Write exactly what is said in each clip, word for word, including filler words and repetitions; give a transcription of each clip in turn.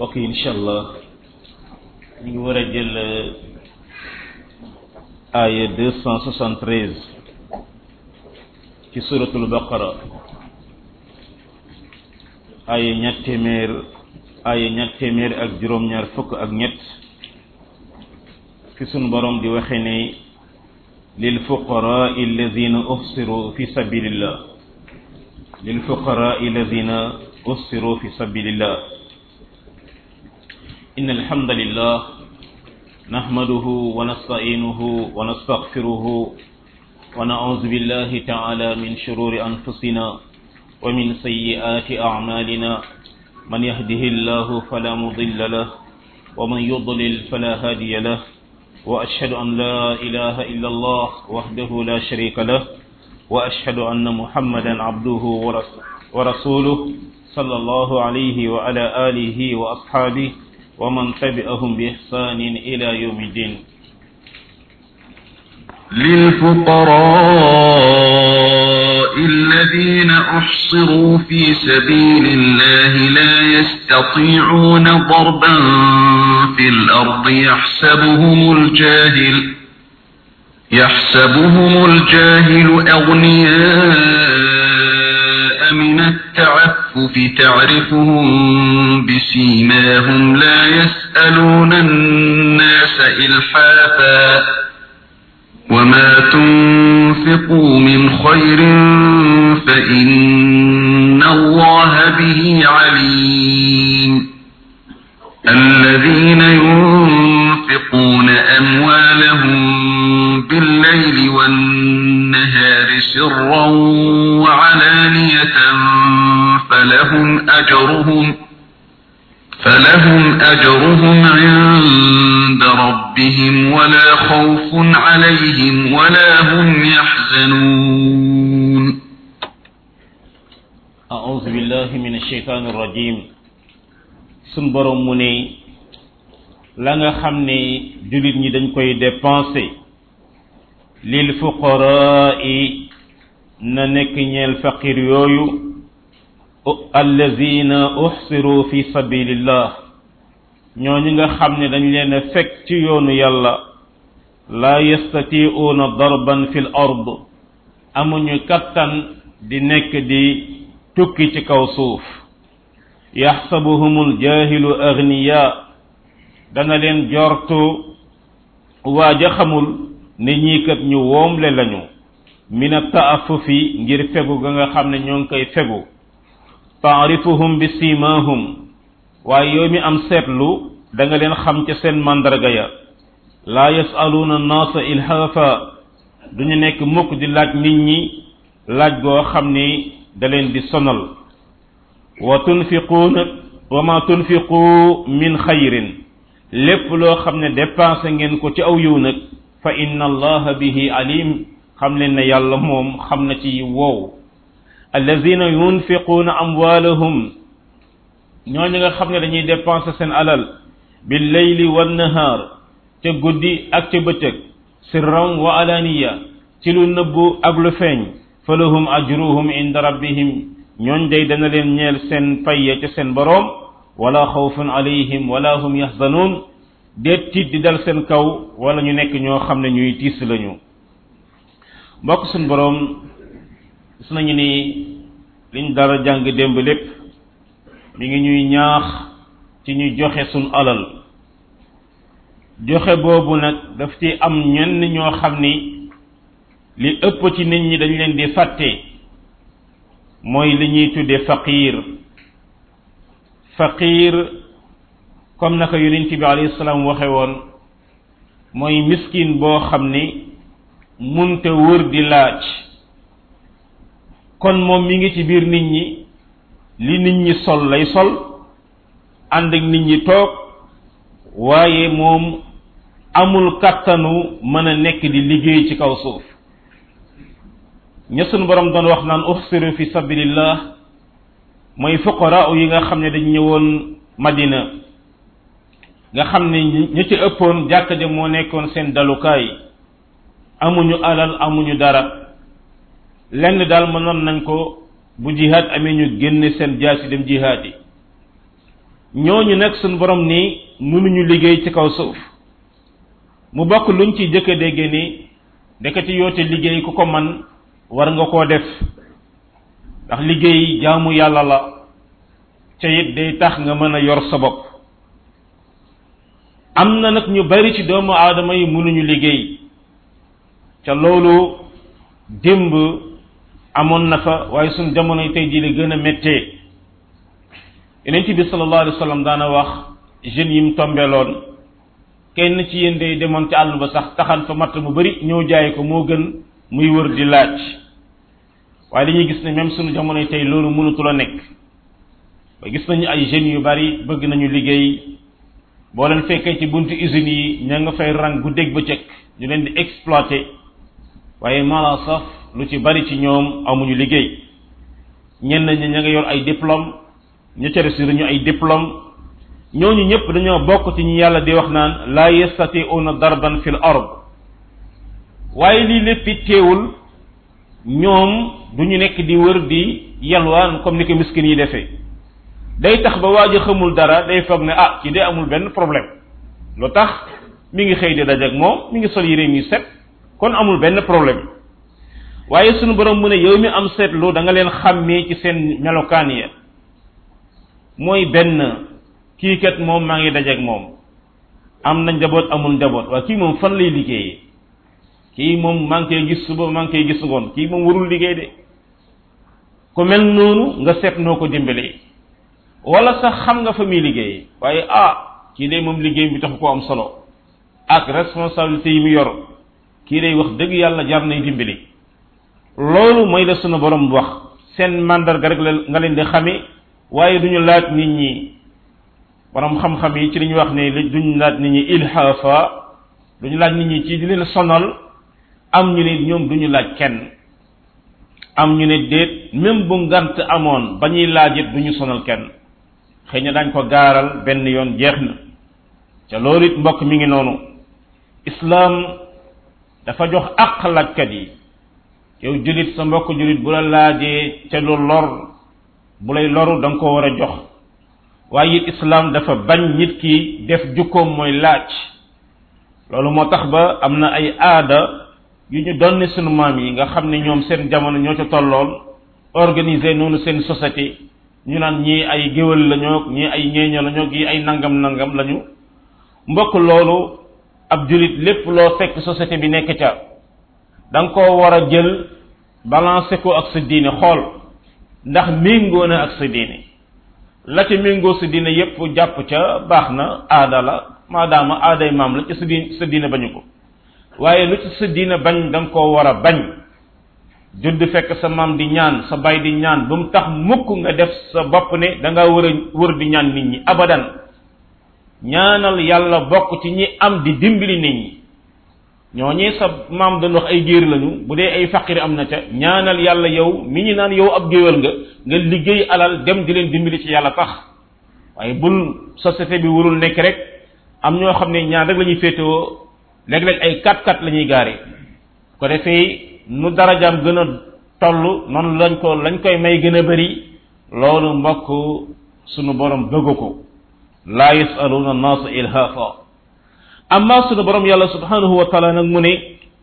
mbokk yi incha allah ñu ngi war a jël aaya deux cent soixante-treize ci suratul baqara aaya ñett téeméer aaya ñett téeméer ak juróom-ñaar fukk ak ñett fi sunu borom di waxe ne lil fuqaraa alladina uhsiru fi sabilillah lil fuqaraa alladina uhsiru fi sabilillah إن الحمد لله نحمده ونستعينه ونستغفره ونعوذ بالله تعالى من شرور أنفسنا ومن سيئات أعمالنا من يهده الله فلا مضل له ومن يضلل فلا هادي له وأشهد أن لا إله إلا الله وحده لا شريك له وأشهد أن محمدا عبده ورسوله صلى الله عليه وعلى آله وأصحابه ومن تبعهم بإحسان إلى يوم الدين للفقراء الذين أحصروا في سبيل الله لا يستطيعون ضربا في الأرض يحسبهم الجاهل يحسبهم الجاهل أغنياء من التعفف تعرفهم بسيماهم لا يسألون الناس إلحافا وما تنفقوا من خير فإن الله به عليم الذين ينفقون أموالهم بالليل والنهار سرا وعلانية فلهم أجرهم فلهم أجرهم عند ربهم ولا خوف عليهم ولا هم يحزنون أعوذ بالله من الشيطان الرجيم سنبرم مني لغا خمني جلد ني دنج كوي ديبانسي للفقراء نانيك ñeel faqir yoyu allazina uhsiru fi sabilillah ñooñu nga xam ne dañ leen a fekk ci yoonu yàlla la yastati'una darban fil ard amuñu kattan di nekk di tukki ci kaw suuf yaxsabuhumul jahilu aghniya dana leen jortu waaja xamul ne ñii kat ñu woomle lañu min at-ta'affufi ngir fegu ga nga xam ne ñoo ngi koy fegu ta'rifuhum bi simahum waaye yow mi am seetlu da nga leen xam ca seen mandarga ya la yasaluna an-nasa ilhafa duñu nekk mukk di laaj nit ñi laaj goo xam ni da leen di sonal wa tunfiquna wa ma tunfiqu min xayrin lépp loo xam ne dépensé ngeen ko ci aw yiw nag fa inna allaha bihi alim xam leen ne yàlla moom xam na ci wow allazina yunfiquna amwalahum ñooñu nga xam ne dañuy dépenser seen alal bil layli wan nahar ca guddi ak ca bëccëg sirran wa alaniya ci lu nëbbu ak lu feeñ falahum ajruhum inda rabbihim ñooñ day dana leen ñeel seen payya ca seen boroom wala xawfun alayhim wala hum yahzanun déet tiit di dal seen kaw wala ñu nekk ñoo xam ne ñuy tiis lañu mbokk suñ boroom gis nañu ni liñ dara jàng démb lépp mi ngi ñuy ñaax ci ñu joxe suñ alal joxe boobu nag daf ci am ñenn ñoo xam ni li ëpp ci nit ñi dañ leen di fàtte mooy li ñuy tudde faqir faqir comme naka yonent bi alayhi salaam waxe woon mooy miskin boo xam ni munte wër di laaj kon moom mi ngi ci biir nit ñi li nit ñi sol lay sol ànd ak nit ñi toog waaye moom amul kattanu mën a nekk di liggéey ci kaw suuf ña sunu borom doon wax naan uhsiru fi sabilillah mooy fuqara yi nga xam ne dañ ñëwoon Madina nga xam ne ñi ci ëppoon jàkka ja moo nekkoon seen dalukaay amuñu alal amuñu dara lenn daal mënoon nañ ko bu jihaad amee ñu génne seen jaasi dem jihaad yi ñooñu nag suñ borom ni mënuñu liggéey ci kaw suuf mu bokk luñ ci jëkk a déggee ni ndekati yoote liggéey ku ko man war nga koo def ndax liggéey jaamu yàlla la ca it day tax nga mën a yor sa bopp am na nag ñu bari ci doomu aadama yi mënuñu liggéey ca loolu démb amoon na fa waaye suñ jamono yi tey jii la gën a méttee yonent bi sallallahu alayhi wa sallam daana wax jeunes yi mu tombeloon kenn ci yéen day demoon ci àll ba sax taxan fa matt mu bari ñëw jaay ko moo gën muy wër di laaj waaye dañuy gis ne même suñu jamono yi tey loolu mënatul a nekk ba gis nañu ay jeunes yu bari bëgg nañu liggéey boo leen fekkee ci buntu usines yi ña nga fay rang guddeeg bëccëg ñu leen di exploiter waaye mala saf lu ci bari ci ñoom amuñu liggéey ñenn ñi ña nga yor ay diplôme ñu ca des ñu ay diplôme ñooñu ñëpp dañoo bokk ci ñi yàlla di wax naan la yastati'una darban fil ard waaye lii lépp teewul ñoom duñu nekk di wër di yalwaan comme ni ko miskin yi defee day tax ba waaj a xamul dara day foog ne ah ci dee amul benn problème lu tax mi ngi xëy di dajak moom mi ngi sol yére mi set kon amul benn problème waaye sunu borom mu ne yow mi am seetlu da nga leen xàmmee ci seen melokaan ya mooy benn kii kat moom maa ngi dajak moom am na njaboot amul njaboot waaye kii moom fan lay liggéeyee kii moom maa ngi koy gis suba maa ngi koy gis ngoon kii moom warul liggéey de ku mel noonu nga seet noo ko dimbalee wala sax xam nga fa muy liggéeyee waaye ah kii de moom liggéey bi taxu koo am solo ak responsabilité yi mu yor kii day wax dëgg yàlla jar nay dimbali loolu mooy la sunu borom wax seen mandarga rek la nga leen di xamee waaye duñu laaj nit ñi borom xam-xam yi ci li ñu wax ne duñu laaj nit ñi ilhaafa duñu laaj nit ñi ci di leen sonal am ñu ne ñoom duñu laaj kenn am ñu ne déet même bu ngant amoon ba ñuy laaj it duñu sonal kenn xëy na dañ ko gaaral benn yoon jeex na ca loolu it mbokk mi ngi noonu islaam dafa jox àq laajkat yi yow julit sa mbokk julit bu la laajee ca lu lor bu lay loru da nga ko war a jox waaye it islaam dafa bañ nit ki def jukkoom mooy laaj loolu moo tax ba am na ay aada yu ñu doon sunu maam yi nga xam ne ñoom seen jamono ñoo ca tolloon organiser noonu seen société ñu naan ñii ay géwël lañoo ñii ay ñeeño lañoo ñii ay nangam nangam lañu mbokk loolu ab julit lépp loo fekk société bi nekk ca da nga koo war a jël balancer ko ak sa diine xool ndax méngoo na ak sa diine la ca méngoo sa diine yépp jàpp ca baax na aada la maadaama aaday maam la ci sa diine sa diine bañu ko waaye lu ci sa diine bañ da nga koo war a bañ judd fekk sa maam di ñaan sa baay di ñaan ba mu tax mukk nga def sa bopp ne da nga war a wër di ñaan nit ñi abadan ñaanal yàlla bokk ci ñi am di dimbali nit ñi ñooñee sa maam doon wax ay géer lañu bu dee ay faqir am na ca ñaanal yàlla yow mi ñu naan yow ab géwél nga nga liggéey alal dem di leen dimbali ci yàlla tax waaye bul société bi warul nekk rek am ñoo xam ne ñaan rek la ñuy féetewoo léeg-léeg ay kat kat la ñuy gaare ko defee nu darajaam gën a toll noonu lañ ko lañ koy may gën a bari loolu mbokk sunu borom bëgg ko laa yasaluna annaasa ilhaafa amma sunu borom yàlla subhanahu wa taala nag mu ne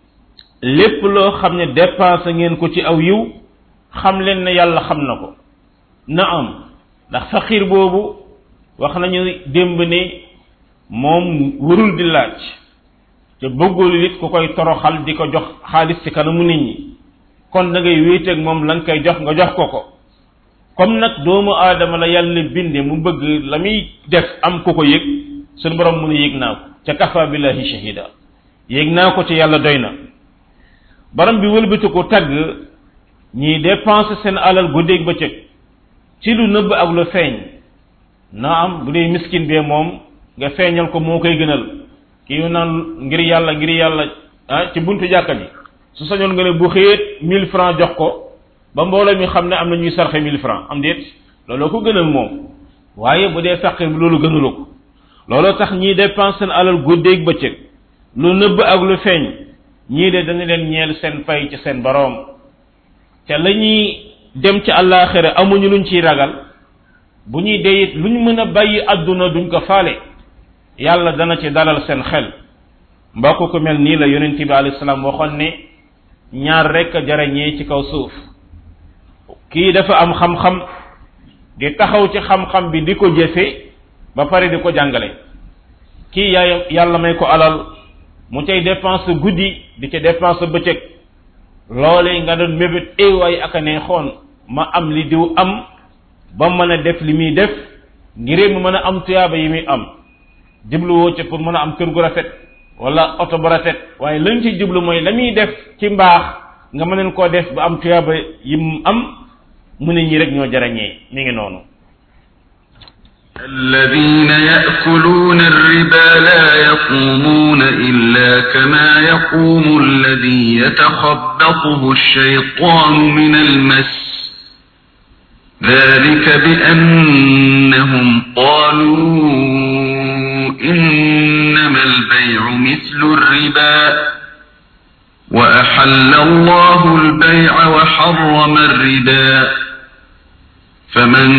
lépp loo xam ne dépensé ngeen ko ci aw yiw xam leen ne yàlla xam na ko na am ndax faqir boobu wax nañu démb ne moom warul di laaj te bëggul it ku koy toroxal di ko jox xaalis ci kanamu nit ñi kon da ngay wéeteeg moom la nga koy jox nga jox ko ko comme nag doomu aadama la yàlla binde mu bëgg la muy def am ku ko yëg suñu borom mu ne yëg naa ko ca kafa billahi shahida yëg naa ko ci yàlla doy na borom bi wëlbati ko tagg ñiy dépenser seen alal guddeeg bëccëg ci lu nëbb ak lu feeñ na am bu dee miskin bee moom nga feeñal ko moo koy gënal kii yu naan ngir yàlla ngir yàlla ah ci buntu jàkka ji su sañoon nga ne bu xëyet mille francs jox ko ba mbooloo mi xam ne am na ñuy sarxe mille francs am déet looloo ko gënal moom waaye bu dee faqir bi loolu gënalu ko looloo tax ñii dépense seen alal guddeeg bëccëg lu nëbb ak lu feeñ ñii de dañu leen ñeel seen fay ci seen boroom te la ñuy dem ci àllaaxira amuñu luñ ciy ragal bu ñuy dee it lu ñu mën a bàyyi àdduna duñ ko faale yàlla dana ci dalal seen xel mbokk ko mel nii la yonent bi alayhi salaam waxoon ne ñaar rek a jarañee ci kaw suuf kii dafa am xam-xam di taxaw ci xam-xam bi di ko jëfe ba pare di ko jàngale kii yaay yàlla may ko alal mu cay dépense guddi di ca dépense bëccëg loolee nga doon mébét ay waay ak a neexoon ma am li diw am ba mën a def li muy def ngir mu mën a am tuyaaba yi muy am jubluwoo ca pour mën a am kër gu rafet wala oto bu rafet waaye lañ ci jublu mooy la muy def ci mbaax nga mëneen koo def ba am tuyaaba yi mu am mu ne ñi rek ñoo jarañee mi ngi noonu الذين يأكلون الربا لا يقومون إلا كما يقوم الذي يتخبطه الشيطان من المس ذلك بأنهم قالوا إنما البيع مثل الربا وأحل الله البيع وحرم الربا فمن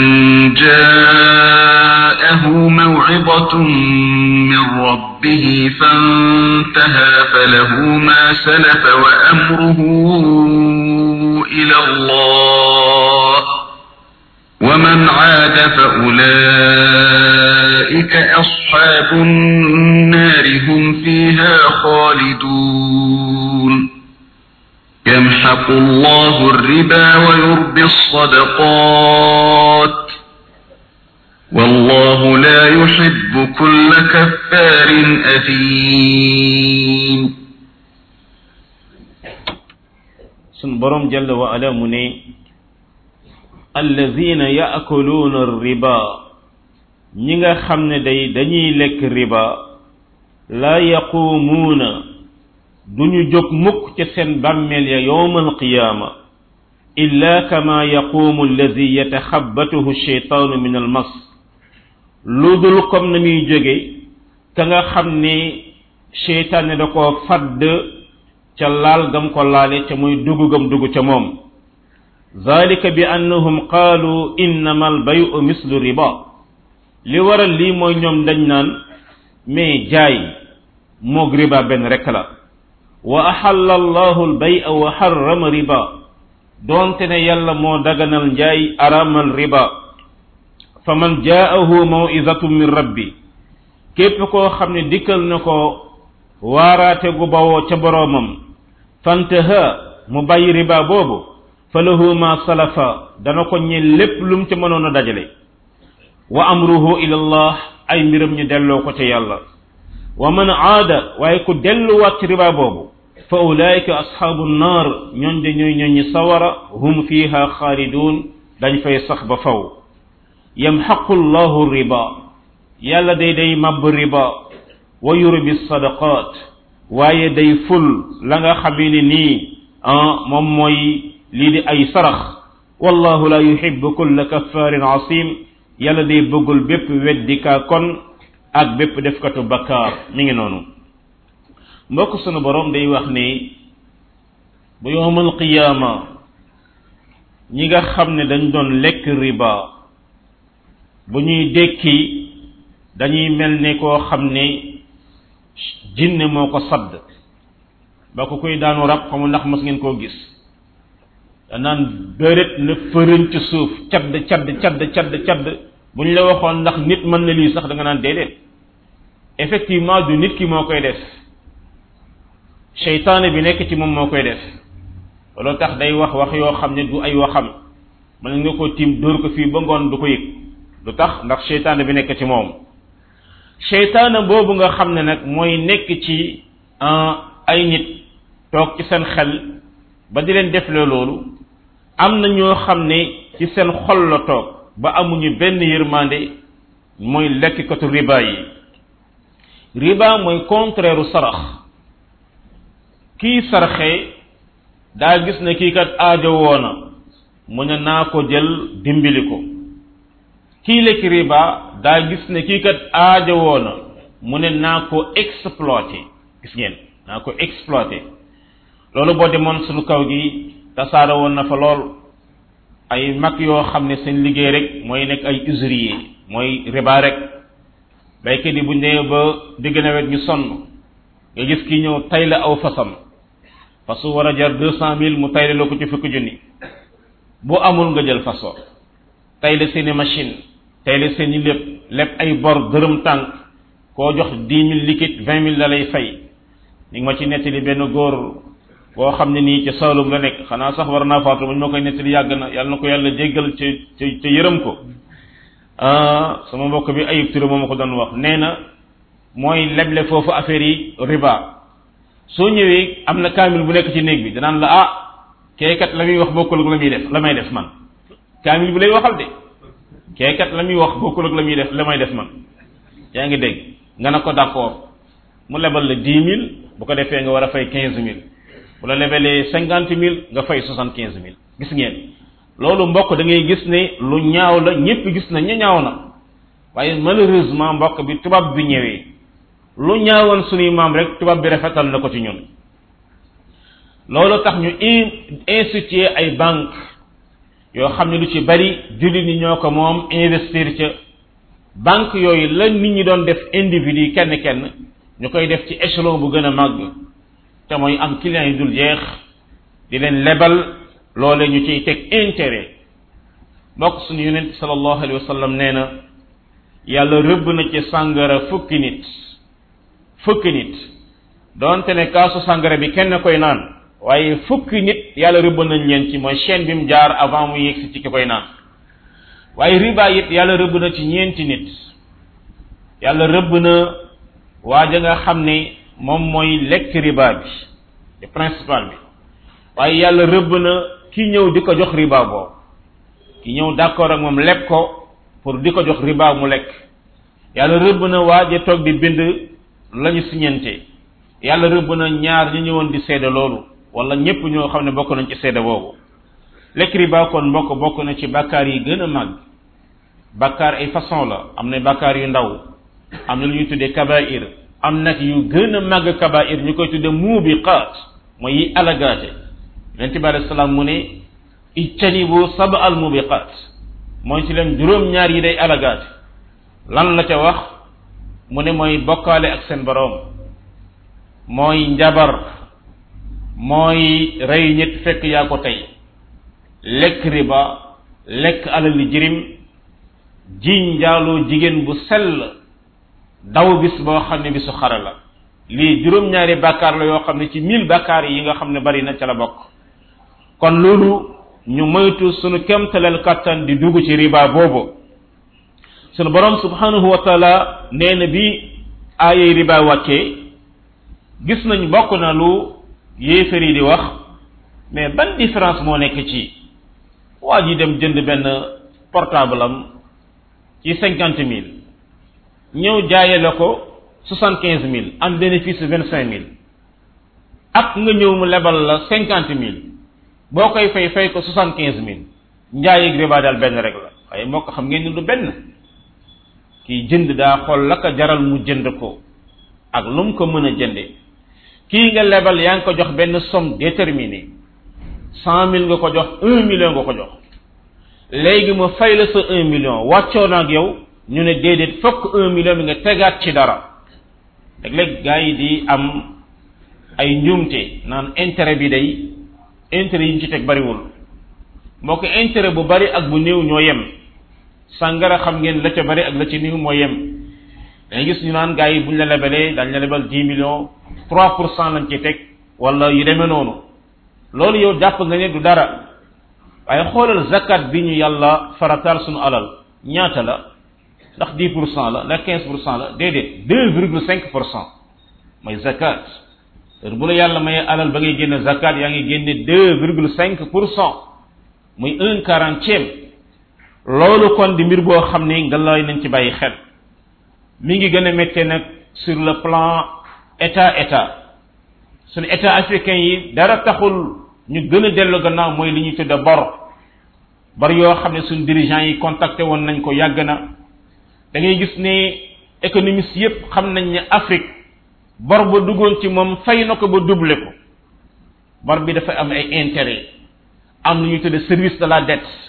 جاءه موعظة من ربه فانتهى فله ما سلف وأمره إلى الله ومن عاد فأولئك أصحاب النار هم فيها خالدون يمحق الله الربا ويربي الصدقات والله لا يحب كل كفار أثيم سن برم جل وعلا مني الذين يأكلون الربا ñinga xamne day dañuy lek riba la yaqumuna duñu jóg mukk ci seen bammel ya yawmal qiyama illa kama yaqumu alladhi yatakhabbathu ash-shaytanu min al-mas ludul comme na muy jóge ka nga xam ne shaytan da ko fadd ca laal gam ko laale ca muy dugu gam dugu ca moom zalika bi annahum qalu innama al-bay'u mislu riba li waral lii mooy ñoom dañ naan mais jaay moog riba benn rek la wa ahalla allahu al-bay'a wa harrama riba donte ne yàlla moo daganal njaay aramal riba faman jaahu maw'izatun min rabbi képp koo xam ne dikkal na ko waaraate gu bawoo ca boroomam fantaha mu bàyyi riba boobu falahu ma salafa dana ko ñeel lépp lum ca mënoon a dajale wa amruhu ila allah ay mbiram ñu delloo ko ca yàlla wa man aada waaye ku delluwaat ci riba boobu fa ulaika ashabu nnar ñoon de ñooy ñooñi sawara hum fiha xaalidun dañ fay sax ba faw yamxaqu llahu riba yàlla day day mabb riba wa yurbi sadaqat waaye day ful la nga xamee ne nii ah moom mooy lii di ay sarax wallahu la yuhibbu kulla kaffarin asim yàlla day bëggul bépp weddikaa kon ak bépp defkatu bakkaar mi ngi noonu mbokk sunu borom day wax ni bu yawmal qiyaama ñi nga xam ne dañ doon lekk riba bu ñuy dekki dañuy mel ne koo xam ne jinne moo ko sadd ba ko koy daanu rab xamu ndax mas ngeen koo gis danaan bëret na fërën ci suuf cadd cadd cadd cadd cadd bu ñu la waxoon ndax nit mën na lii sax da nga naan déedéet effectivement du nit ki moo koy def seytaane bi nekk ci moom moo koy def loolu tax day wax wax yoo xam ne du ay waxam mën nga ko tiim dóor ko fii ba ngoon du ko yëg du tax ndax seytaane bi nekk ci moom seytaane boobu nga xam ne nag mooy nekk ci ay nit toog ci seen xel ba di leen def loolu am na ñoo xam ne ci seen xol la toog ba amuñu benn yërmande mooy lekkikatu riba yi riba mooy contraire u sarax kii sarxe daa gis ne kii kat aajo woona mu ne naa ko jël dimbali ko kii lekk riba daa gis ne kii kat aajo woona mu ne naa ko exploité gis ngeen naa ko exploité loolu boo demoon suñu kaw gi tasaara woon na fa lool ay mag yoo xam ne seen liggéey rek mooy nekk ay usurier mooy riba rek baykat yi bu ñu nee ba digg nawet ñu sonn nga gis kii ñëw tay la aw fasam fasu war a jar deux cent mille mu tayle loo ko ci fukki junni bu amul nga jël faso tayle seeni machine tayle seeni lépp lépp ay bor dërëm tànk koo jox dix mille liquide vingt mille la lay fay ñu ngi ma ci nettali benn góor boo xam ne nii ci Saalum la nekk xanaa sax war naa faatu ba ñu ma koy nettali yàgg na yàlla na ko yàlla jéggal ci ci ci yërëm ko sama mbokk bi Ayib Touré moo ma ko doon wax nee na mooy leble foofu affaire yi riba soo ñëwee am na kaamil bu nekk ci néeg bi danaan la ah keekat la muy wax bokkul ak la muy def la may def man kaamil bi lay waxal de keekat la muy wax bokkul ak la muy def la may def man yaa ngi dégg nga ne ko d'accord mu lebal la dix mille bu ko defee nga war a fay quinze mille bu la lebalee cinquante mille nga fay soixante quinze mille gis ngeen loolu mbokk da ngay gis ne lu ñaaw la ñëpp gis na ñu ñaaw na waaye malheureusement mbokk bi tubaab bi ñëwee lu ñaawoon suñuy maam rek tubaab bi rafetal na ko ci ñun loolu tax ñu instituer ay banque yoo xam ne lu ci bari jullit ñi ñoo ko moom investir ca banque yooyu la nit ñi doon def individu kenn kenn ñu koy def ci échelon bu gën a màgg te mooy am clients yi dul jeex di leen lebal loole ñu ciy teg intérêt mbokk suñu yonent sallallahu alayhi wa sallam nee na yàlla rëbb na ci sàngara fukki nit fukki nit doonte ne kaasu sàngara bi kenn koy naan waaye fukki nit yàlla rëbb nañ leen ci mooy chaîne bi mu jaar avant mu yegsi ci ki koy naan waaye riba it yàlla rëbb na ci ñeenti nit yàlla rëbb na waaja nga xam ne moom mooy lekk riba bi le principal bi waaye yàlla rëbb na ki ñëw di ko jox riba boobu ki ñëw d'accord ak moom leb ko pour di ko jox riba mu lekk yàlla rëbb na waaja toog di bind lañu siñente yàlla rëbb na ñaar ñu ñëwoon di seede loolu wala ñépp ñoo xam ne bokk nañ ci seede boobu lekk riba kon mbokk bokk na ci bàkkaar yi gën a màgg bàkkaar ay façon la am na bàkkaar yu ndaw am na lu ñuy tuddee kabair am nag yu gën a màgg kabair ñu koy tuddee muubiqaat mooy yi alagaate yonent bi alayhi salaam mu ne ijtanibu sab al muubiqaat mooy ci leen juróom-ñaar yi day alagaate lan la ca wax mu ne mooy bokkaale ak seen boroom mooy njabar mooy rey nit fekk yaa ko tey lekk riba lekk alali jirim jiñ njaaloo jigéen bu sell daw bis boo xam ne bisu xare la lii juróom-ñaari bàkkaar la yoo xam ne ci mille bàkkaar yi nga xam ne bari na ca la bokk kon loolu ñu moytu sunu kemtaleel kattan di dugg ci riba boobu sunu borom subhanahu wa taala nee na bi aayay riba wàccee gis nañ bokk na lu yéefar yi di wax mais ban différence moo nekk ci waa ji dem jënd benn portable am ci cinquante mille ñëw jaaye la ko soixante quinze mille am bénéfice vingt cinq mille ak nga ñëw mu lebal la cinquante mille boo koy fay fay ko soixante quinze mille njaay ak riba daal benn rek la waaye moo ko xam ngeen ni du benn kii jënd daa xool la ko jaral mu jënd ko ak lu mu ko mën a jënde kii nga lebal yaa ngi ko jox benn somme déterminée cent mille nga ko jox un million nga ko jox léegi ma fay la sa un million wàccoo na ak yow ñu ne déedéet fokk un million bi nga tegaat ci dara léeg-léeg gars yi di am ay njuumte naan intérêt bi day intérêt yi ñu ci teg bariwul moo ko intérêt bu bari ak bu néew ñoo yem sàngara xam ngeen la ca bari ak la ci néew moo yem dañuy gis ñu naan gars yi buñ la lebalee dañ la lebal dix millions trois pour cent lañ ci teg wala yu demee noonu loolu yow jàpp nga ne du dara waaye xoolal zakat bi ñu yàlla farataal suñu alal ñaata la ndax dix pour cent la ndax quinze pour cent la déedéet deux virgule cinq pour cent mooy zakat heure bu la yàlla mayee alal ba ngay génne zakat yaa ngi génne deux virgule cinq pour cent muy un quarantième loolu kon di mbir boo xam ne nga lay nañ ci bàyyi xel mi ngi gën a méttee nag sur le plan état état suñu état africain yi dara taxul ñu gën a dellu gannaaw mooy li ñuy tudde bor bor yoo xam ne suñu dirigeants yi contacté woon nañ ko yàgg na da ngay gis ne économistes yépp xam nañ ne Afrique bor ba duggoon ci moom fay na ko ba doublé ko bor bi dafa am ay intérêt am lu ñuy tudde service de la dette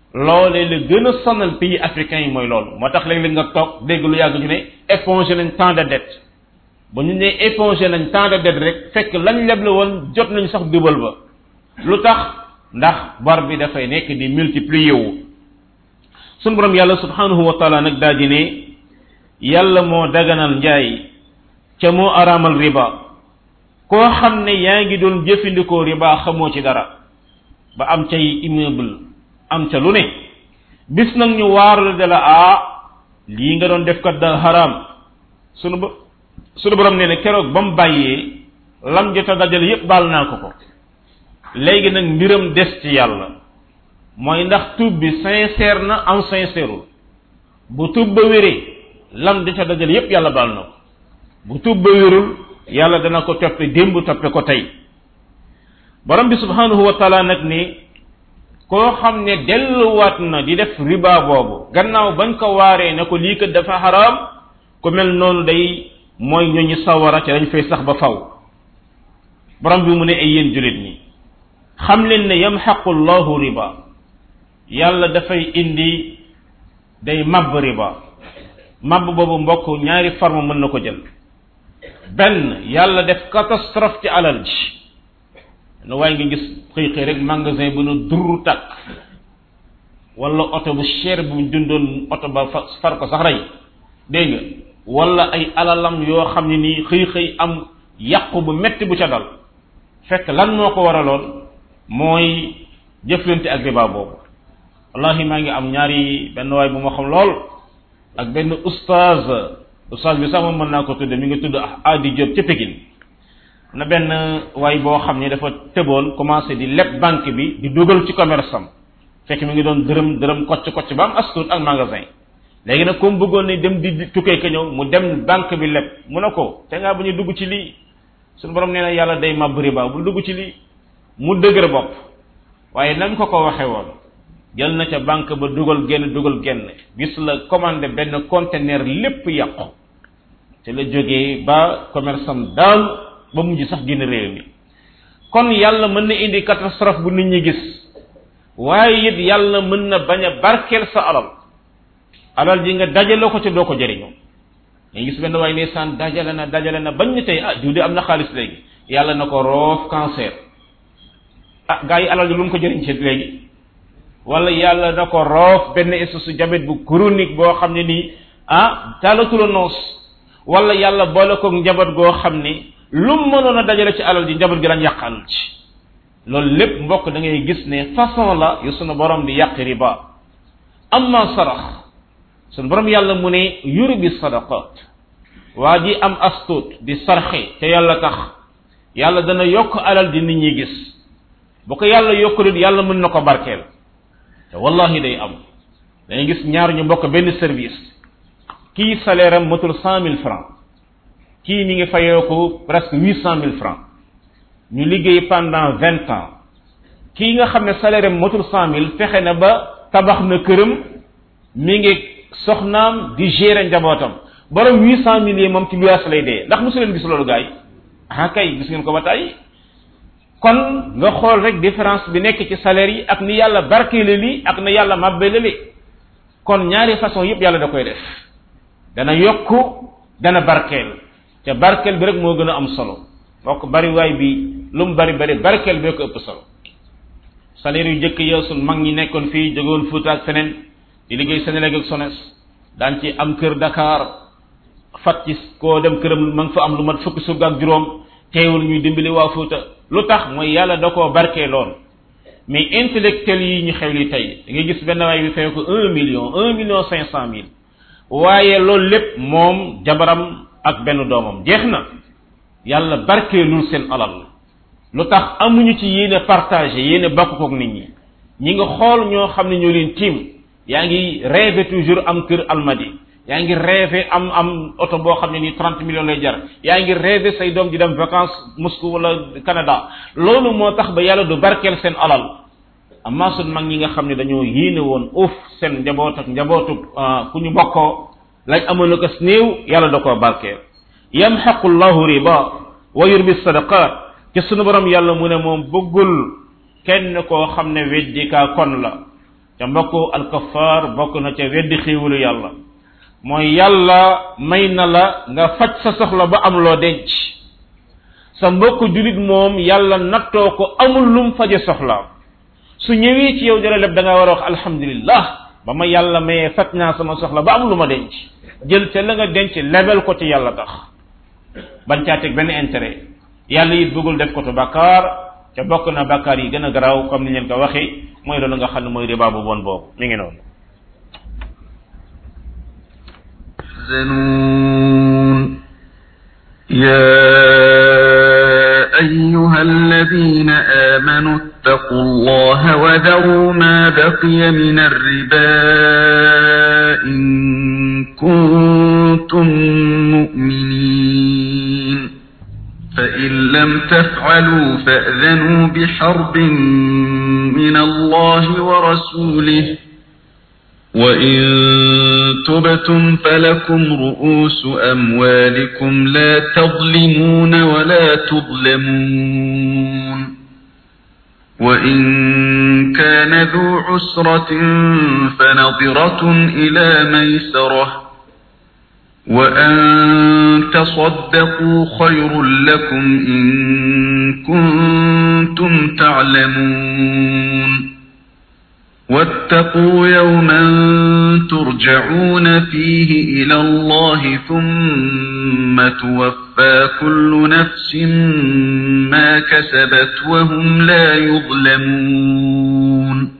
loolee la gën a sonal pays africains yi mooy loolu moo tax léeg-léeg nga toog dégg lu yàgg ñu ne épongé nañ tant de dette ba ñu ne épongé nañ tant de dette rek fekk lañ leble woon jot nañ sax dubal ba lu tax ndax bor bi dafay nekk di multiplier wu sunu borom yàlla subhanahu wa taala nag daal di ne yàlla moo daganal njaay ca moo araamal riba koo xam ne yaa ngi doon jëfandikoo riba xamoo ci dara ba am cay immeuble am ca lu ne bis nag ñu waaru de la ah lii nga doon def kat da haram sunu ba sunu borom nee ne keroog ba mu bàyyee lam jot a dajale yépp baal naa ko ko léegi nag mbiram des ci yàlla mooy ndax tuub bi sincère na am sincèreul bu tuub ba wéree lam jot a dajale yépp yàlla baal na ko bu tuub ba wérul yàlla dana ko toppe démb toppe ko tey borom bi subhanahu wa taala nag ni koo xam ne delluwaat na di def riba boobu gannaaw bañ ko waaree ne ko lii kat dafa xaraam ku mel noonu day mooy ñooñu sawara ca dañ fay sax ba faw borom bi mu ne ay yéen julit ñi xam leen ne yamxaqu llahu riba yàlla dafay indi day mabb riba mabb boobu mbokk ñaari forme mën na ko jël benn yàlla def catastrophe ci alal ji no waaye nga gis xëy xëy rek magasin bu nu durru tàkk wala oto bu cher bu dundoon oto ba far ko sax rey dégg nga wala ay alalam yoo xam ne nii xëy xëy am yàqu bu metti bu ca dal fekk lan moo ko waraloon mooy jëflante ak riba boobu wallahi maa ngi am ñaari benn waay bu ma xam lool ak benn oustaz oustaz bi sax moom mën naa ko tudde mi ngi tudd Adi Diop ca Pékin na benn waay boo xam ne dafa tëboon commencé di leb banque bi di dugal ci commerce am fekk mi ngi doon dërëm dërëm kocc kocc ba am astuut ak magasin léegi nag comme bëggoon ne dem di tukkee ka ñëw mu dem banque bi leb mu ne ko te ngaa bu ñu dugg ci lii suñu borom nee na yàlla day màbb riba bu dugg ci lii mu dëgër bopp waaye nañ ko ko waxee woon jël na ca banque ba dugal génn dugal génn gis la commandé benn conteneur lépp yàqu te la jógee ba commerce am daal ba mujj sax génn réew mi kon yàlla mën na indi catastrophe bu nit ñi gis waaye it yàlla mën na bañ a barkeel sa alal alal ji nga dajale ko ci doo ko jëriñoo nga gis benn waaye ndeysaan dajale na dajale na bañ ñu tey ah diw de am na xaalis léegi yàlla na ko roof cancer ah gaa yi alal ji lu mu ko jëriñ ci léegi wala yàlla na ko roof benn espèce diabète bu chronique boo xam ne nii ah taalatula noos wala yàlla boole ko njaboot goo xam ni lu mu mënoon a dajale ci alal ji njaboot gi lañ yàq alal ci loolu lépp mbokk da ngay gis ne façon la yu sunu borom di yàq riba amma sarax sunu borom yàlla mu ne yurbi sadaqat waa ji am astut di sarxe te yàlla tax yàlla dana yokk alal di nit ñi gis bu ko yàlla yokkulit yàlla mën na ko barkeel te wallahi day am da ngay gis ñaar ñu bokk benn service kii salaire am matul cent mille francs kii mi ngi fayoo ko presque huit cent mille francs ñu liggéey pendant vingt ans kii nga xam ne salaire am matul cent mille fexe na ba tabax na këram mi ngi soxnaam di gérer njabootam borom huit cent mille yi moom ci luyaas lay dee ndax mosu leen gis loolu gars yi ah kay gis ngeen ko ba tey kon nga xool rek différence bi nekk ci salaire yi ak ni yàlla barkeele li ak na yàlla màbbele li kon ñaari façon yëpp yàlla da koy def dana yokku dana barkeel te barkeel bi rek moo gën a am solo bokk bari waay bi lu mu bari bari barkeel bee ko ëpp solo salaire yu jëkk yow sun mag ñi nekkoon fii jógoon Fuuta ak feneen di liggéey Senelec ak Sones daan ci am kër Dakar fat ci koo dem këram ma nga fa am lu mat fukki surga ak juróom teewul ñuy dimbali waa Fuuta lu tax mooy yàlla da koo barkeeloon mais intellectuel yi ñu xew li tey da ngay gis benn waay bi fay ko un million un million cinq cent mille waaye loolu lépp moom jabaram ak benn doomam jeex na yàlla barkeelul seen alal lu tax amuñu ci yéene partagé yéene bokk kook nit ñi ñi nga xool ñoo xam ne ñoo leen tiim yaa ngi rêvé toujours am kër Almadi yaa ngi rêvé am am oto boo xam ne nii trente millions lay jar yaa ngi rêvé say doom di dem vacances Moscou wala Canada loolu moo tax ba yàlla du barkeel seen alal amma sun mag ñi nga xam ne dañoo yéene woon uuf seen njaboot ak njabootu ku ñu bokkoo lañ amoon ko néew yàlla da koo barkeel yamxaqu llahu riba wa yurbi sadaqat ci sunu borom yàlla mu ne moom bëggul kenn koo xam ne weddikaa kon la ca mbokk alkafaar bokk na ca weddi xéewalu yàlla mooy yàlla may na la nga faj sa soxla ba am loo denc sa mbokk julit moom yàlla nattoo ko amul lum faje soxlaam su ñëwee ci yow dara lépp da nga war a wax alhamdulillah ba ma yàlla mayee faj naa sama soxla ba am lu ma denc jël ca la nga denc lebel ko ci yàlla tax bañ caa teg benn intérêt yàlla it bëggul def ko to bakkaar ca bokk na bakkaar yi gën a garaaw comme ni leen ko waxee mooy loolu nga xam ne mooy riba bu bon boobu mi ngi noonu يحزنون يا أيها الذين آمنوا اتقوا الله وذروا ما بقي من الربا إن كنتم مؤمنين فإن لم تفعلوا فأذنوا بحرب من الله ورسوله وإن تبتم فلكم رؤوس أموالكم لا تظلمون ولا تظلمون وإن كان ذو عسرة فنظرة إلى ميسرة وأن تصدقوا خير لكم إن كنتم تعلمون واتقوا يوما ترجعون فيه إلى الله ثم توفى كل نفس ما كسبت وهم لا يظلمون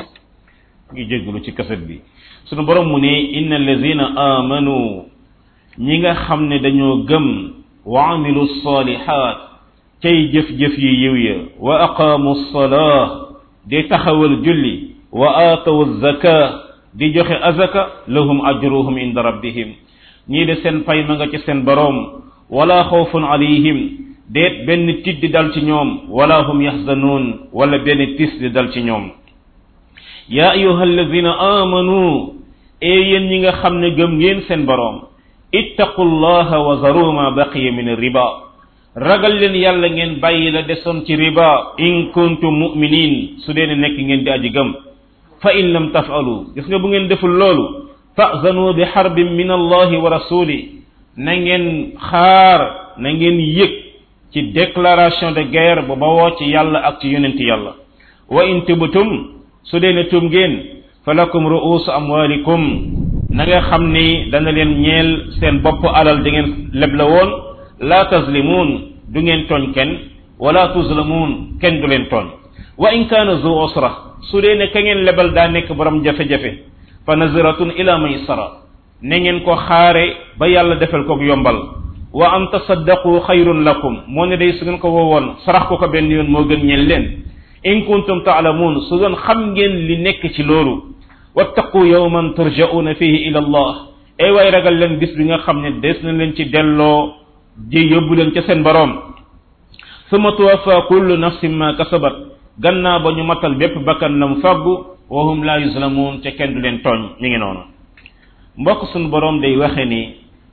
يجيغلو ci kaset bi sunu borom mu ne innal ladzina amanu ñi nga xam ne dañoo gëm wa amilu salihat cay jëf jëf yi yiw ya wa aqamu salah di taxawal julli wa atawu zaka di joxe azaka lahum ajruhum inda rabbihim ñi de seen pay ma nga ci seen borom wala khawfun alayhim deet benn tit di dal ci ñoom wala hum yahzanun wala benn tis di dal ci ñoom ya ayyuhalladhina amanu e yeen ñi nga xam ne gëm ngeen seen borom ittaqullaha wa zaru ma baqiya min riba ragal leen yàlla ngeen bàyyi la desoon ci riba in kuntum mu'minin su dee nekk ngeen di aji gëm fa in lam taf'alu gis nga bu ngeen deful loolu fa'zanu bi harbin min allahi wa rasuli na ngeen xaar na ngeen yëg ci déclaration de guerre bu bawoo ci yàlla ak ci yonent yàlla wa in tubtum su dee ne tum ngeen falakum ru'usu amwalikum na nga xam ni dana leen ñeel seen bopp alal di ngeen leble woon la tazlimun du ngeen tooñ kenn wala tuzlamun kenn du leen tooñ wa in kaana zu usra su dee ne ka ngeen lebal daa nekk borom jafe-jafe fa naziratun ila maysara na ngeen ko xaare ba yàlla defal ko yombal wa an tasaddaqu xayrun lakum moo ne day su ngeen ko woowoon sarax ko ko benn yoon moo gën ñeel leen in kuntum ta'lamun su doon xam ngeen li nekk ci loolu wattaqu yawman turja'una fihi ila allah ay way ragal leen bis bi nga xam ne des na leen ci delloo ji yóbbu leen ca seen borom summa tuwaffa kullu nafsin ma kasabat gannaa ba ñu matal bépp bakkan lam faggu wa hum la yuzlamun te kenn du leen tooñ mi ngi noonu mbokk suñu borom day waxe ni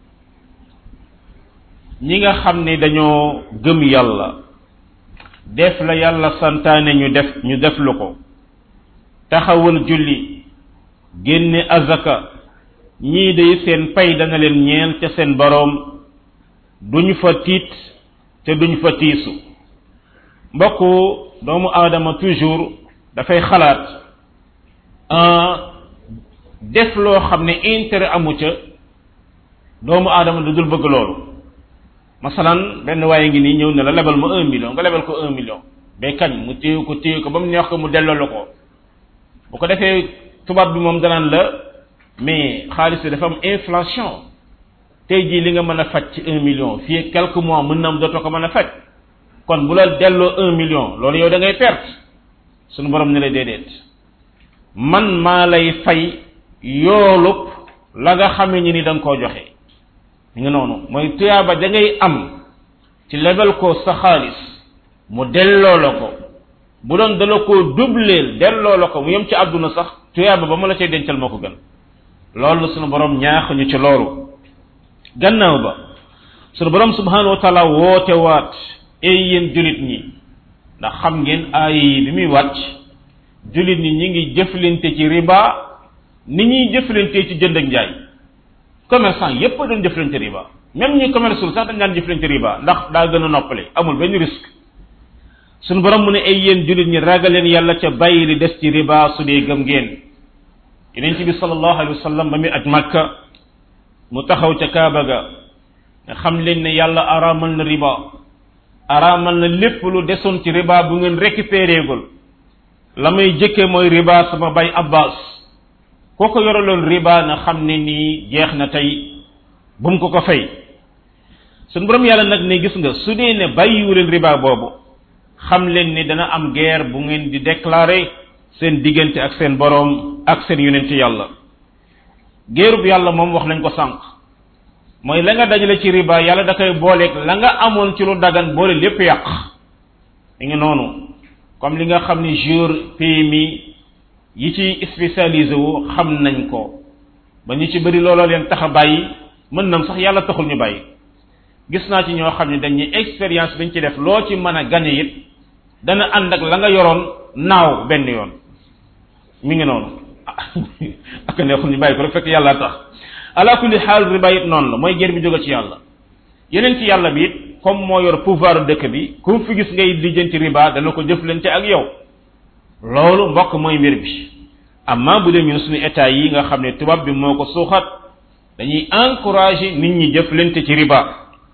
ñi nga xam ne dañoo gëm yàlla def la yàlla santaane ñu def ñu def lu ko taxawal julli génne azaka ñii day seen pay dana leen ñeel ca seen borom duñ fa tiit te duñ fa tiisu mbokk doomu aadama toujours dafay xalaat def loo xam ne intérêt amu ca doomu aadama du dul bëgg loolu masalan benn waaye ngi nii ñëw ne la lebal ma un million nga lebal ko un million bay kañ mu téye ko téye ko ba mu neex ko mu delloo la ko bu ko defee tubaab bi moom danaan la mais xaalis bi dafa am inflation tey jii li nga mën a faj ci un million fii quelques mois mën na am dootoo ko mën a faj kon bu la delloo un million loolu yow da ngay perte sunu borom ne la déedéet man maa lay fay yoolub la nga xamee ni ni da nga koo joxe mi nga noonu mooy tuyaaba da ngay am ci lebal ko sa xaalis mu delloo la ko bu doon dala koo dubleel delloo la ko mu yem ci àdduna sax tuyaaba ba mu la cay dencal moo ko gën loolu sunu borom ñaax ñu ci loolu gannaaw ba sunu borom subhanahu wa taala woote waat ay yéen julit ñi ndax xam ngeen aay yi bi muy wàcc jullit ñi ñi ngi jëflante ci riba ni ñuy jëflante ci jënd ak njaay commerçant yépp doon jëflante riba même ñi commerçul sax dañ daan jëflante riba ndax daa gën a noppale amul benn risque suñu borom mu ne ay yéen jullit ñi ragal leen yàlla ca bàyyi li des ci riba su dee gëm ngeen yonent bi sallallahu alayhi wa sallam ba muy aj Makka mu taxaw ca Kaaba ga nga xam leen ne yàlla araamal na riba araamal na lépp lu desoon ci riba bu ngeen récupéré gul la may jëkke mooy riba sama bay Abbas koo ko yoraloon riba na xam ne nii jeex na tey bu mu ko ko fay suñu borom yàlla nag ne gis nga su dee ne bàyyiwu leen riba boobu xam leen ni dana am guerre bu ngeen di déclarer seen diggante ak seen boroom ak seen yonent yàlla guerre bu yàlla moom wax nañ ko sànq mooy la nga dajale ci riba yàlla da koy booleeg la nga amoon ci lu dagan boole lépp yàq mi ngi noonu comme li nga xam ni jour P M I yi ci spécialisé wu xam nañ ko ba ñu ci bëri looloo leen tax a bàyyi mën nam sax yàlla taxul ñu bàyyi gis naa ci ñoo xam ne dañuy expérience biñ ci def loo ci mën a gañe it dana ànd ak la nga yoroon naaw benn yoon mi ngi noonu ak neexul ñu bàyyi ko rek fekk yàlla tax ala kulli xaal riba it noonu la mooy guerre bi jóge ci yàlla yeneen ci yàlla bi it comme moo yor pouvoir dëkk bi ku fi gis ngay lijjanti riba dana ko jëflante ak yow loolu mbokk mooy mbir bi amma bu dee ñun suñu état yi nga xam ne tubaab bi moo ko suuxat dañuy encourager nit ñi jëflante ci riba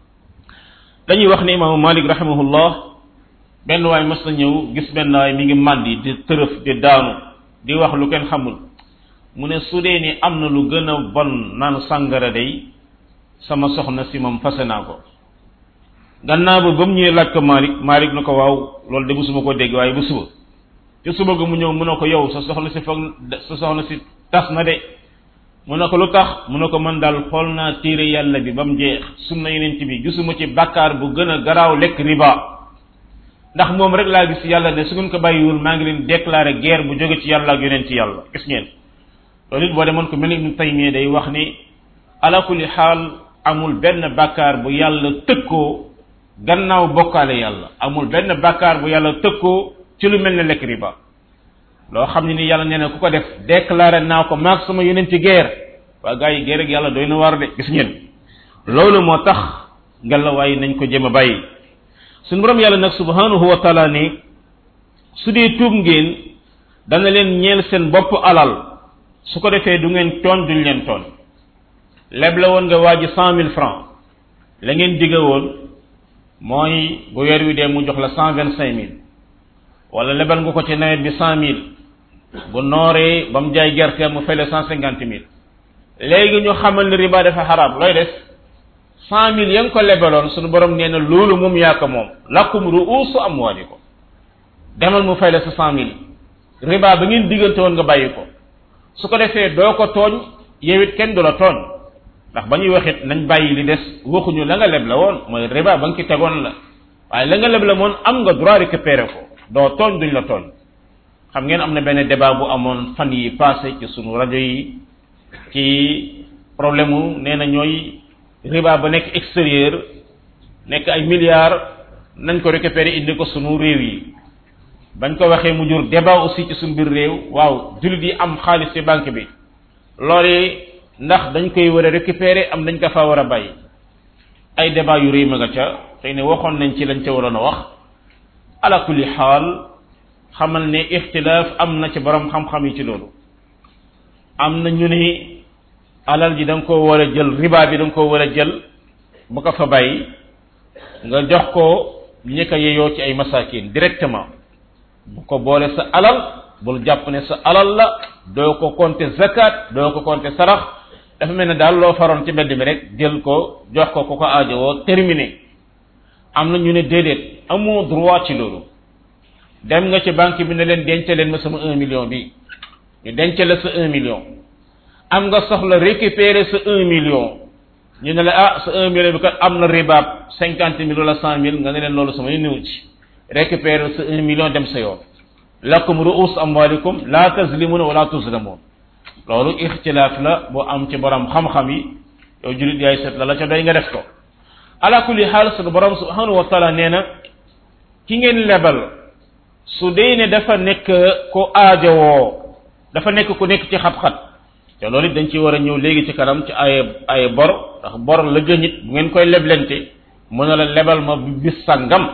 dañuy wax ne imaamu Malik rahimahullah benn waay mas na ñëw gis benn waay mi ngi màndi di tërëf di daanu di wax lu kenn xamul mu ne su dee ni am na lu gën a bon naan sàngara day sama soxna si moom fase naa ko gannaaw ba ba mu ñëwee laaj ko Malik Malik na ko waaw loolu de bu suma ko dégg waaye bu suba te suba ga mu ñëw mu ne ko yow sa soxna si foog sa soxna si tas na de mu ne ko lu tax mu ne ko man daal xool naa téere yàlla bi ba mu jeex sunna yonent bi gisuma ci bàkkaar bu gën a garaaw lekk riba ndax moom rek laa gis yàlla ne su ngeen ko bàyyiwul maa ngi leen déclarer guerre bu jóge ci yàlla ak yonent yàlla gis ngeen loolu it boo demoon ko mel ni Ibnu Taymiyya day wax ni ala kulli xaal amul benn bàkkaar bu yàlla tëkkoo gannaaw bokkaale yàlla amul benn bàkkaar bu yàlla tëkkoo ci lu mel ne lekk riba loo xam ne ni yàlla nee na ku ko def déclaré naa ko maag sama yonent ci guerre waa gars yi guerre ak yàlla doy na war de gis ngeen loolu moo tax ngallaawaay nañ ko jéem a bàyyi suñu borom yàlla nag subhanahu wa taala ni su dee tuub ngeen dana leen ñeel seen bopp alal su ko defee du ngeen tooñ duñ leen tooñ leble woon nga waa ji cent mille francs la ngeen digge woon mooy bu weer wi dee mu jox la cent vingt cinq mille wala lebal nga ko ci nawet bi cent mille bu nooree ba mu jaay gerte mu fay la cent cinquante mille léegi ñu xamal ne riba dafa xaraam looy def cent mille ya nga ko lebaloon suñu borom nee na loolu moom yaa ko moom lakum ruusu amwaalikum demal mu fay la sa cent mille riba ba ngeen diggante woon nga bàyyi ko su ko defee doo ko tooñ yow it kenn du la tooñ ndax ba ñuy waxit nañ bàyyi li des waxuñu la nga leb la woon mooy riba ba nga ci tegoon la waaye la nga leb la moon am nga droit récupérer ko doo tooñ duñ la tooñ xam ngeen am na benn débat bu amoon fan yi passé ci sunu rajo yi ci problème mu nee na ñooy riba ba nekk extérieur nekk ay milliards nañ ko récupérer indi ko sunu réew yi bañ ko waxee mu jur débat aussi ci sunu biir réew waaw jullit yi am xaalis ci banque bi loolu ndax dañ koy war a récupérer am dañ ko fa war a bàyyi ay débat yu rëy ma nga ca xëy ne waxoon nañ ci lañ ca waroon a wax ala kulli xaal xamal ne ixtilaaf am na ci borom xam-xam yi ci loolu am na ñu ne alal ji da nga koo war a jël riba bi da nga koo war a jël bu ko fa bàyyi nga jox ko ñi ko yeyoo ci ay masakin directement bu ko boole sa alal bul jàpp ne sa alal la doo ko compter zakat doo ko compter sarax dafa mel ne daal loo faroon ci mbedd mi rek jël ko jox ko ku ko aajowoo terminé am na ñu ne déedéet amoo droit ci loolu dem nga ci banque bi ne leen denc leen ma sama un million bi ñu denc la sa un million am nga soxla récupérer sa un million ñu ne la ah sa un million bi kat am na ribaab cinquante mille wala cent mille nga ne leen loolu sama néew ci récupérer sa un million dem sa yoon lakum ru'us amwalikum la tazlimuna wala tuzlamun loolu ixtilaaf la boo am ci borom xam-xam yi yow julit yaay seet la la ca doy nga def ko ala kulli xaal sunu borom subhanahu wa taala nee na ki ngeen lebal su dee ne dafa nekk ko aajowoo dafa nekk ku nekk ci xat-xat te loolu it dañ ci war a ñëw léegi ci kanam ci ay ay bor ndax bor la gënit bu ngeen koy leblente mu ne la lebal ma bis sàngam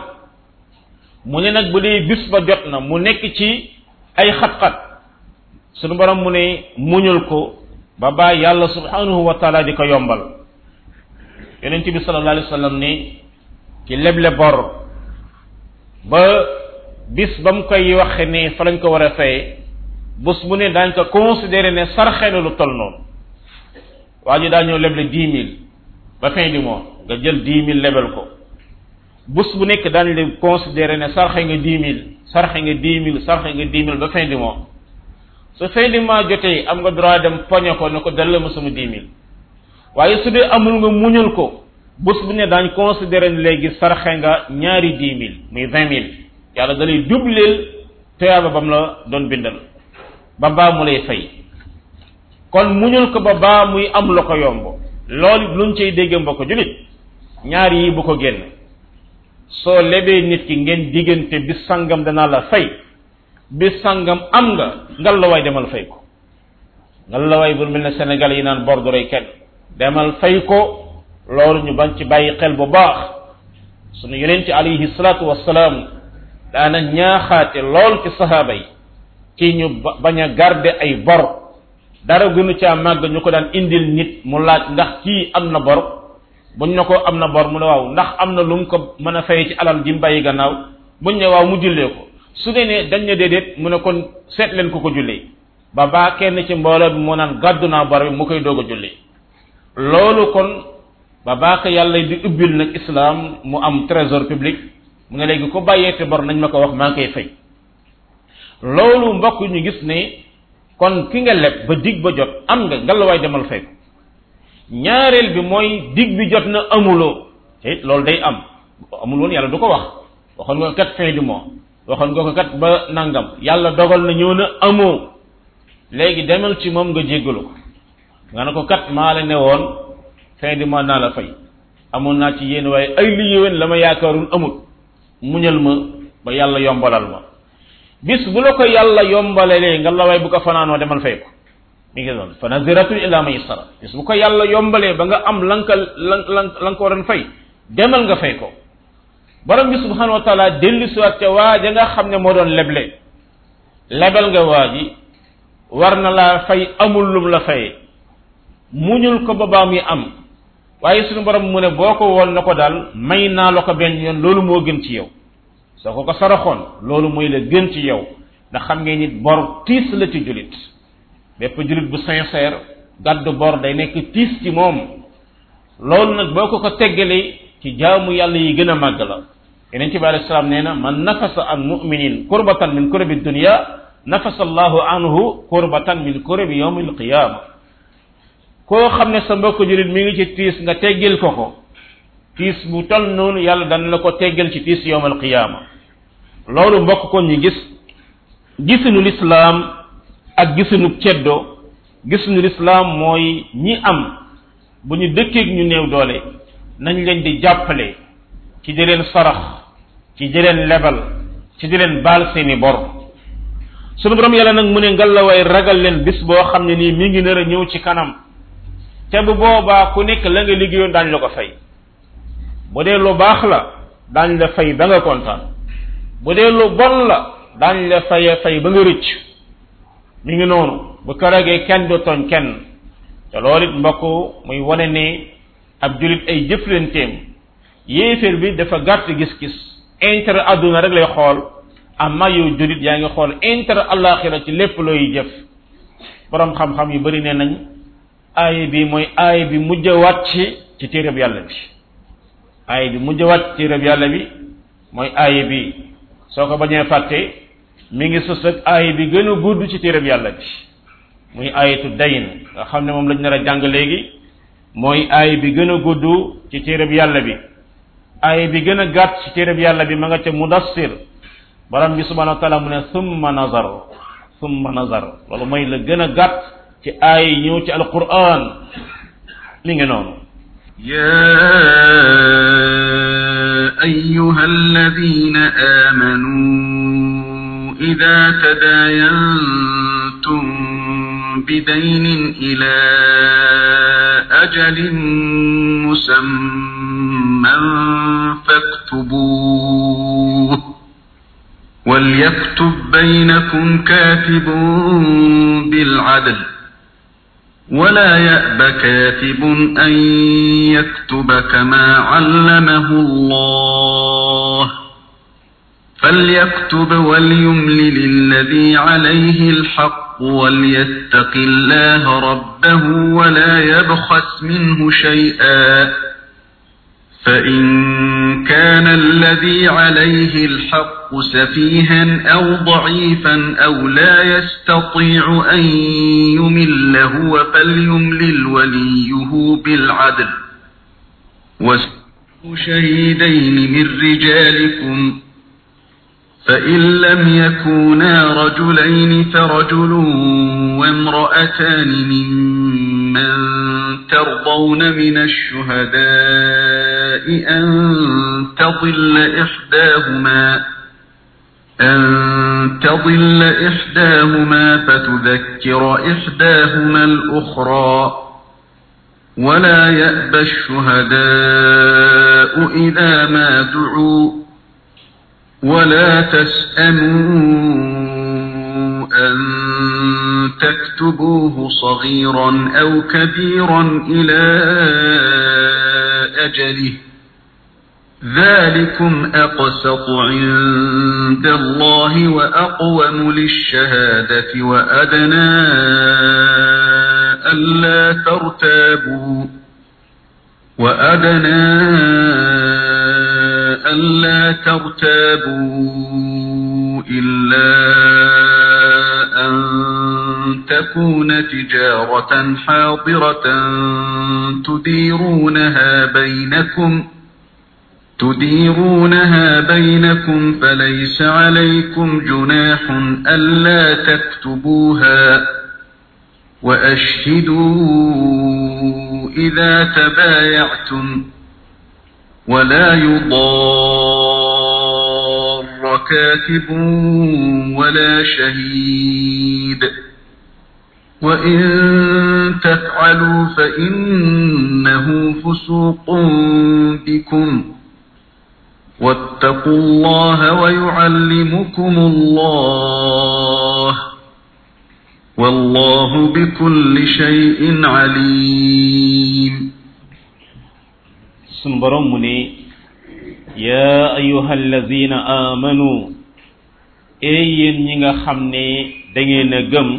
mu ne nag bu dee bis ba jot na mu nekk ci ay xat-xat sunu borom mu ne muñul ko ba baa yàlla subhanahu wa taala di ko yombal yonent bi sallallahu alayhi wa sallam ne ci leble bor ba bis ba mu koy waxe ne fa lañ ko war a fay bés bu ne daañ ko considéré ne sarxe na lu toll noonu waa ji daa ñëw leble dix mille ba fin du mois nga jël dix mille lebel ko bés bu nekk daañu leen considéré ne sarxe nga dix mille sarxe nga dix mille sarxe nga dix mille ba fin du mois su fin du mois jotee am nga droit dem poñe ko ne ko delloo ma sama dix mille waaye su dee amul nga muñul ko bés bu ne daañ considéré ne léegi sarxe nga ñaari dix mille muy vingt mille yàlla da lay dubleel tuyaaba bam la doon bindal ba baa mu lay fay kon muñul ko ba baa muy am la ko yomb loolu luñ cay dégg mbokk julit ñaar yi bu ko génn soo lebee nit ki ngeen diggante bis sangam danaa la fay bis sangam am nga ngal la waay demal fay ko ngal la waay bu mel ne Sénégal yi naan bor du rey kenn demal fay ko loolu ñu bañ ci bàyyi xel bu baax sunu yonent ci alayhi salaatu wassalaam daana ñaaxaate lool ci sahaaba yi ci ñu bañ a garder ay bor dara gënu caa màgg ñu ko daan indil nit mu laaj ndax kii am na bor buñ ne ko am na bor mu ne waaw ndax am na lu mu ko mën a fay ci alal ji mu bàyyi gannaaw buñ ne waaw mu jullee ko su dee ne dañ ne déedéet mu ne kon seet leen ko ko jullee ba baa kenn ci mbooloo bi moo naan gàddu naa bor bi mu koy doog a jullee loolu kon ba baa ko yàlla di ubbil nag islam mu am trésor public mu ne léegi ko bàyyeete bor nañ ma ko wax maa ngi koy fay loolu mbokk ñu gis ne kon ki nga leb ba dig ba jot am nga ngalawaay demal fay ko ñaareel bi mooy dig bi jot na amuloo te loolu day am amul woon yàlla du ko wax waxoon nga ko kat fin du mois waxoon nga ko kat ba nangam yàlla dogal na ñëw na amoo léegi demal ci moom nga jéggalu ko nga ne ko kat maa la ne woon fin du mois naa la fay amoon naa ci yéen waaye ay li yéwén la ma yaakaarul amul muñal ma ba yàlla yombalal ma bis bu la ko yàlla yombalalee nga la waay bu ko fanaanoo demal fay ko mi ngi doon fa naziratun ila maysara bis bu ko yàlla yombalee ba nga am lan ka lan lan lan ko waroon fay demal nga fay ko borom bi subhanahu wa taala dellu siwaat ca waa ja nga xam ne moo doon leble lebel nga waa ji war na laa fay amul lum la fayee muñul ko ba baa muy am waaye suñu borom mu ne boo ko woon na ko daal may naa la ko benn yoon loolu moo gën ci yow soo ko ko saraxoon loolu mooy la gën ci yow ndax xam ngeen nit bor tiis la ci julit bépp julit bu sincère gàddu bor day nekk tiis ci moom loolu nag boo ko ko teggalee ci jaamu yàlla yi gën a màgg la yeneen ci bi alayhi salaam nee na man nafasa an muminin kurbatan min kurabi dunya nafasa allahu anhu kurbatan min kurabi yawmi alqiyama koo xam ne sa mbokk julit mi ngi ci tiis nga teggil ko ko tiis bu tol noonu yàlla dana la ko teggal ci tiis yawm alqiyama loolu mbokk kon ñu gis gisuñu lislaam ak gisuñu ceddo gisuñu lislaam mooy ñi am bu ñu dëkkeeg ñu néew doole nañ leen di jàppale ci di leen sarax ci di leen lebal ci di leen baal seeni bor sunu borom yàlla nag mu ne ngalawaay ragal leen bis boo xam ne nii mi ngi nar a ñëw ci kanam te bu boobaa ku nekk la nga liggéeyoon daañ la ko fay bu dee lu baax la daañ la fay ba nga kontaan bu dee lu bon la daañ la faye fay ba nga rëcc mi ngi noonu bu karagee kenn du tooñ kenn te loolu it mbokk muy wane ne ab julit ay jëflanteem yéeféer bi dafa gàtt gis-gis intérêt adduna rek lay xool amma yow julit yaa ngi xool intérêt alaxira ci lépp looy jëf borom xam-xam yu bari nee nañ aaya bi mooy aaya bi mujj a wàcc ci téereb yàlla bi aaya bi mujj a wàcc ci téereb yàlla bi mooy aaya bi soo ko bañee fàtte mi ngi sus ak aaya bi gën a gudd ci téereb yàlla bi muy aayatu dayn nga xam ne moom lañ nar a jàng léegi mooy aaya bi gën a gudd ci téereb yàlla bi aaya bi gën a gàtt ci téereb yàlla bi ma nga ca mudassir borom bi subhanahu wa taala mu ne summa nazar summa nazar loolu mooy la gën a gàtt ci aaya yi ñëw ci alquran mi ngi noonu يا أيها الذين آمنوا إذا تداينتم بدين إلى أجل مسمى فاكتبوه وليكتب بينكم كاتب بالعدل ولا يأب كاتب أن يكتب كما علمه الله فليكتب وليملل الذي عليه الحق وليتق الله ربه ولا يبخس منه شيئا فإن كان الذي عليه الحق سفيها أو ضعيفا أو لا يستطيع أن يمل هو فليملل وليه بالعدل واستشهدوا شهيدين من رجالكم فإن لم يكونا رجلين فرجل وامرأتان ممن ترضون من الشهداء أن تضل إحداهما أن تضل إحداهما فتذكر إحداهما الأخرى ولا يأبى الشهداء إذا ما دعوا ولا تسأموا أن تكتبوه صغيرا أو كبيرا إلى أجله ذلكم أقسط عند الله وأقوم للشهادة وأدنى ألا ترتابوا وأدنى ألا ترتابوا إلا أن تكون تجارة حاضرة تديرونها بينكم تديرونها بينكم فليس عليكم جناح ألا تكتبوها وأشهدوا إذا تبايعتم ولا يضار كاتب ولا شهيد وإن تفعلوا فإنه فسوق بكم واتقوا الله ويعلمكم الله والله بكل شيء عليم سنبرمني يا أيها الذين آمنوا أيين نيغا خامني داغينا گم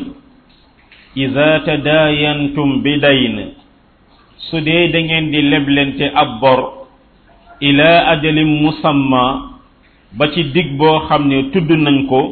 إذا تداينتم بدين سودي داغين دي لبلنتي أبور إلى أجل مسمى باتي ديك بو خامني تود نانكو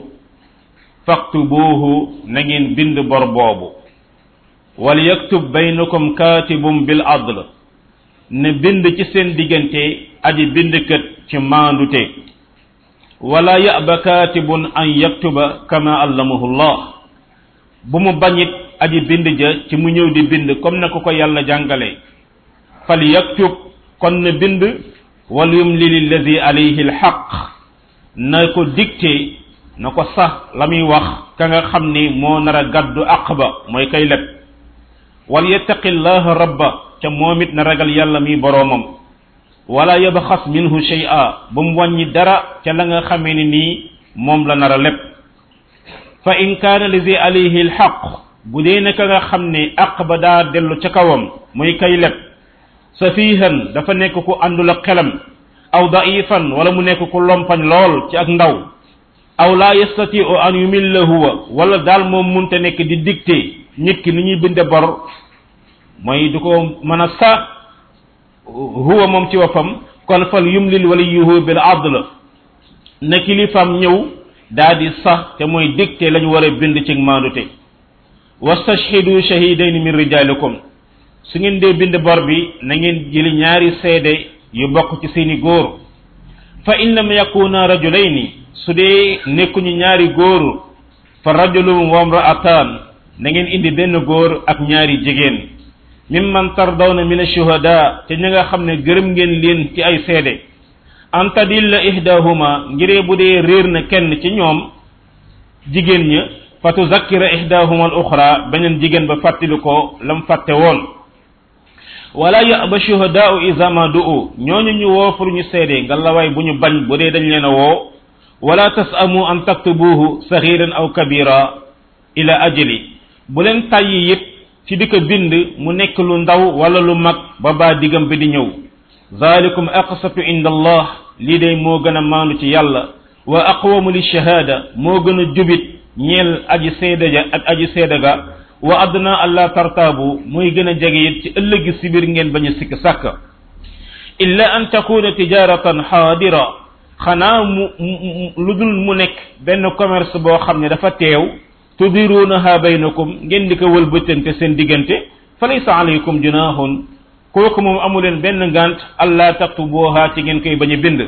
فاكتبوه نغين بند بور بوبو وليكتب بينكم كاتب بالعدل ne bind ci seen diggante aji bindkat ci maandute wala ya'ba katibun an yaktuba kama allamahu Allah bu mu bañit aji bind ja ci mu ñëw di bind comme na ko ko yàlla jàngale fal yaktub kon ne bind wal yumli lillazi alayhi alhaq na ko dicté na ko sax la muy wax ka nga xam ni moo nar a gàddu aqba mooy kay leb wal yattaqillaha rabba ca momit na ragal yàlla mi boromam wala yabkhas minhu shay'a bum wañi dara ca la nga xamé ni ni mom la nara lepp fa in kana lizi alayhi alhaq budé naka nga xamné aqba da delu ca kawam muy kay lepp safihan dafa nek ku andul xelam aw da'ifan wala mu nek ku lompañ lol ci ak ndaw aw la yastati'u an yumillahu wala dal mom munta nek di dicté nit ki ni ñuy bindé bor moy du ko mëna sa huwa mom ci wafam kon fal yumlil waliyuhu bil adl na kilifam ñew daadi sax te moy dicté lañu wara bind ci mandute wastashhidu shahidayn min rijalikum su ngeen de bind bor bi na ngeen jëli ñaari sédé yu bokk ci seeni goor fa in lam yakuna rajulayn su de nekku ñu ñaari goor fa rajulun wa imra'atan na ngeen indi benn goor ak ñaari jigéen mimman tardawna min ash-shuhada te ñi nga xamne gërëm ngeen leen ci ay sédé anta dilla ihdahuma ngiré budé réer na kenn ci ñoom jigéen ña fa tuzakkira ihdahuma al uxra beneen jigéen ba fàttali ko lam fàtte woon wala yaba shuhadaau iza ma du'u ñooñu ñu woo pour ñu seede ngalawaay bu ñu bañ bu dee dañ leen a woo wala tasamu an taktubuhu saxiran aw kabira ila ajali bu leen tàyyi it ci di ko bind mu nekk lu ndaw wala lu mag ba baa digam bi di ñëw zalikum aqsatu inda allah lii day moo gën a maandu ci yàlla wa aqwamu li shahada moo gën a jubit ñeel aji seede ja ak aji seede ga wa adna allah tartaabu muy gën a jege it ci ëllëgi si biir ngeen bañ a sikk sàkk illa an takuna tijaratan xaadira xanaa mu lu dul mu nekk benn commerce boo xam ne dafa teew tudirunaha baynakum ngeen di ko wëlbëtante seen diggante fa laysa alaykum junahun kooku moom amuleen benn ngant allah taktubuha ci ngeen koy bañ a bind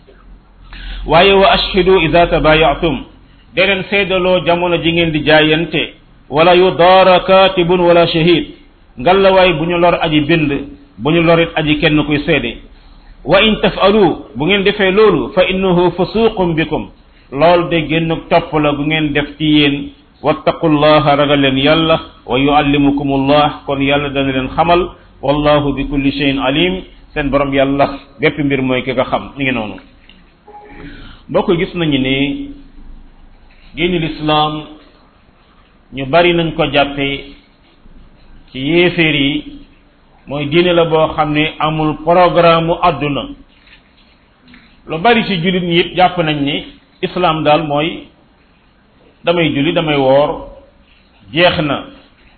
waaye wa ashhidu ida tabayatum deneen seedaloo jamono ji ngeen di jaayante wala yudaara katibun wala shahid ngallawaay bu ñu lor aji bind bu ñu lorit aji kenn kuy seede wa in tafalu bu ngeen defee loolu fa innahu fusuqum bikum lool de génn topp la bu ngeen def ci yéen wattaqullaha ragal leen yàlla wa yuallimukumullah kon yàlla dana leen xamal wallahu bi kulli shay'in alim seen borom yàlla bépp mbir mooy ki nga xam ni ngi noonu mbokk gis nañu ne diini lislaam ñu bari nañ ko jàppe ci yéeféer yi mooy diine la boo xam ne amul programme mu àdduna lu bari ci jullit ñi it jàpp nañ ni islam daal mooy damay julli damay woor jeex na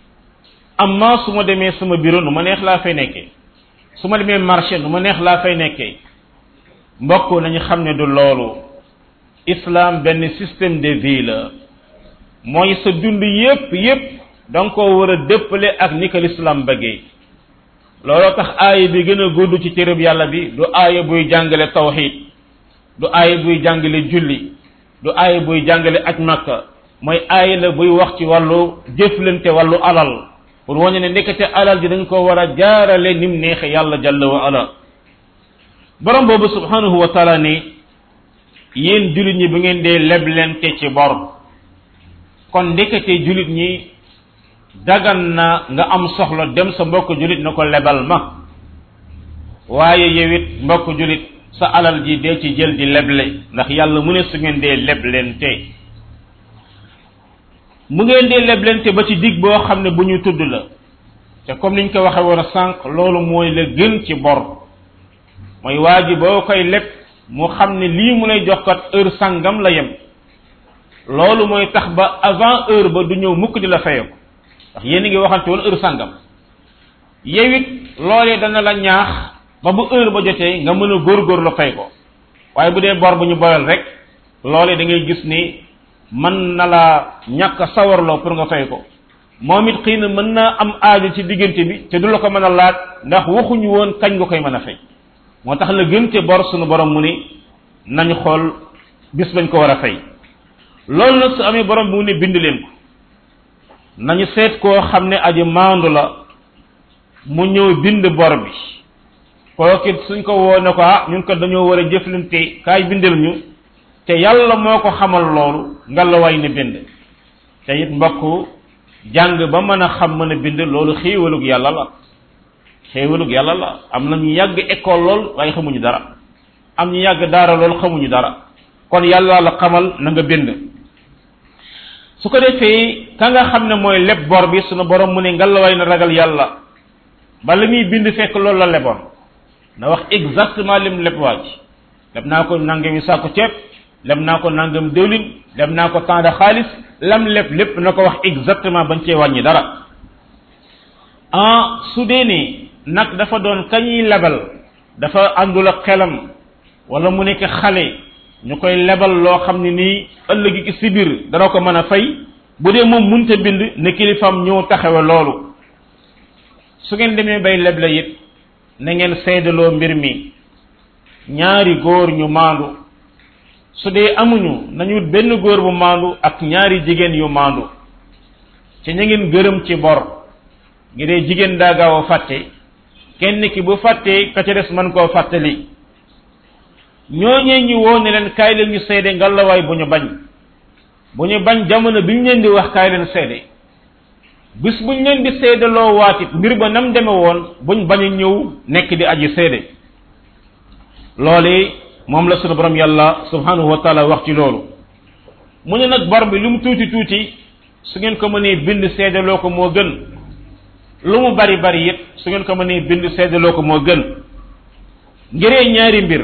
amma su ma demee sama bureau nu ma neex laa fay nekkee su ma demee marché nu ma neex laa fay nekkee mbokk nañu xam ne du loolu islam benn système de vie la mooy sa dund yépp yépp da nga koo war a dëppale ak ni ko l'islam bëggee looloo tax aaya bi gën a gudd ci téereb yàlla bi du aaya buy jàngale tawxid du aaya buy jàngale julli du aaya buy jàngale aj makka mooy aaya la buy wax ci wàllu jëflante wàllu alal pour wañu ne nekkate alal ji dañ ko war a jaarale nim neexe yàlla jalla wa ala borom boobu subhanahu wa taala ni yéen jullit ñi bu ngeen dee leblente ci bor kon ndekete jullit ñi dagan na nga am soxla dem sa mbokk jullit na ko lebal ma waaye yow it mbokk jullit sa alal ji dee ci jël di leble ndax yàlla mu ne su ngeen dee leblente mu ngeen dee leblente ba ci dig boo xam ne bu ñu tudd la te comme niñ ko waxe woon a sànq loolu mooy la gën ci bor mooy waa ji boo koy leb mu xam ne lii mu lay jox kat heure sàngam la yem loolu mooy tax ba avant heure ba du ñëw mukk di la fayoo ndax yéen a ngi waxante woon heure sàngam yow it loolee dana la ñaax ba bu heure ba jotee nga mën a góorgóor la fay ko waaye bu dee bor bu ñu boyal rek loolee da ngay gis ni mën na la ñàkk a sawarloo pour nga fay ko moom it xëy na mën naa am aajo ci diggante bi te du la ko mën a laaj ndax waxuñu woon kañ nga koy mën a fay moo tax la gën te bor suñu borom mu ni nañu xool bis bañ ko war a fay loolu nag su amee borom bi mu ne bind leen ko nañu seet koo xam ne aji maandu la mu ñëw bind bor bi kookit suñ ko woo ne ko ah ñun ko dañoo war a jëflante kaay bindal ñu te yàlla moo ko xamal loolu nga la way ne bind te it mbokk jàng ba mën a xam mën a bind loolu xéewalug yàlla la xéewalug yàlla la am na ñu yàgg école lool waaye xamuñu dara am ñu yàgg daara lool xamuñu dara kon yàlla la xamal na nga bind su ko defee ka nga xam ne mooy leb bor bi sunu borom mu ne ngallaway na ragal yàlla ba la muy bind fekk loolu la leboon na wax exactement lim leb waa ji leb naa ko nangami sàkku ceeb leb naa ko nangam diwlin leb naa ko temps de xaalis lam leb lépp na ko wax exactement bañ cee wàññi dara ah su dee ni nag dafa doon kañuy lebal dafa àndul ak xelam wala mu nekk xale ñu koy lebal loo xam ne nii ëllëgi ki si biir dana ko mën a fay bu dee moom munta bind ne kilifam ñëw taxawe loolu su ngeen demee bay leble it na ngeen seedaloo mbir mi ñaari góor ñu maandu su dee amuñu nañu benn góor bu maandu ak ñaari jigéen yu maandu ci ña ngeen gërëm ci bor ngi dee jigéen daa gaaw a fàtte kenn ki bu fàttee ka ca des mën koo fàttali ñooñee ñu woo ne leen kaay leen ñu seede ngalawaay bu ñu bañ bu ñu bañ jamono bi ñu leen di wax kaay leen seede bis buñ leen di seedaloo waatit mbir ba nam deme woon buñ bañ a ñëw nekk di aji seede loolu moom la sunu borom yàlla subhanahu wa taala wax ci loolu mu ne nag bor bi lu mu tuuti tuuti su ngeen ko mënee bind seedaloo ko moo gën lu mu bari bari it su ngeen ko mënee bind seedaloo ko moo gën ngiree ñaari mbir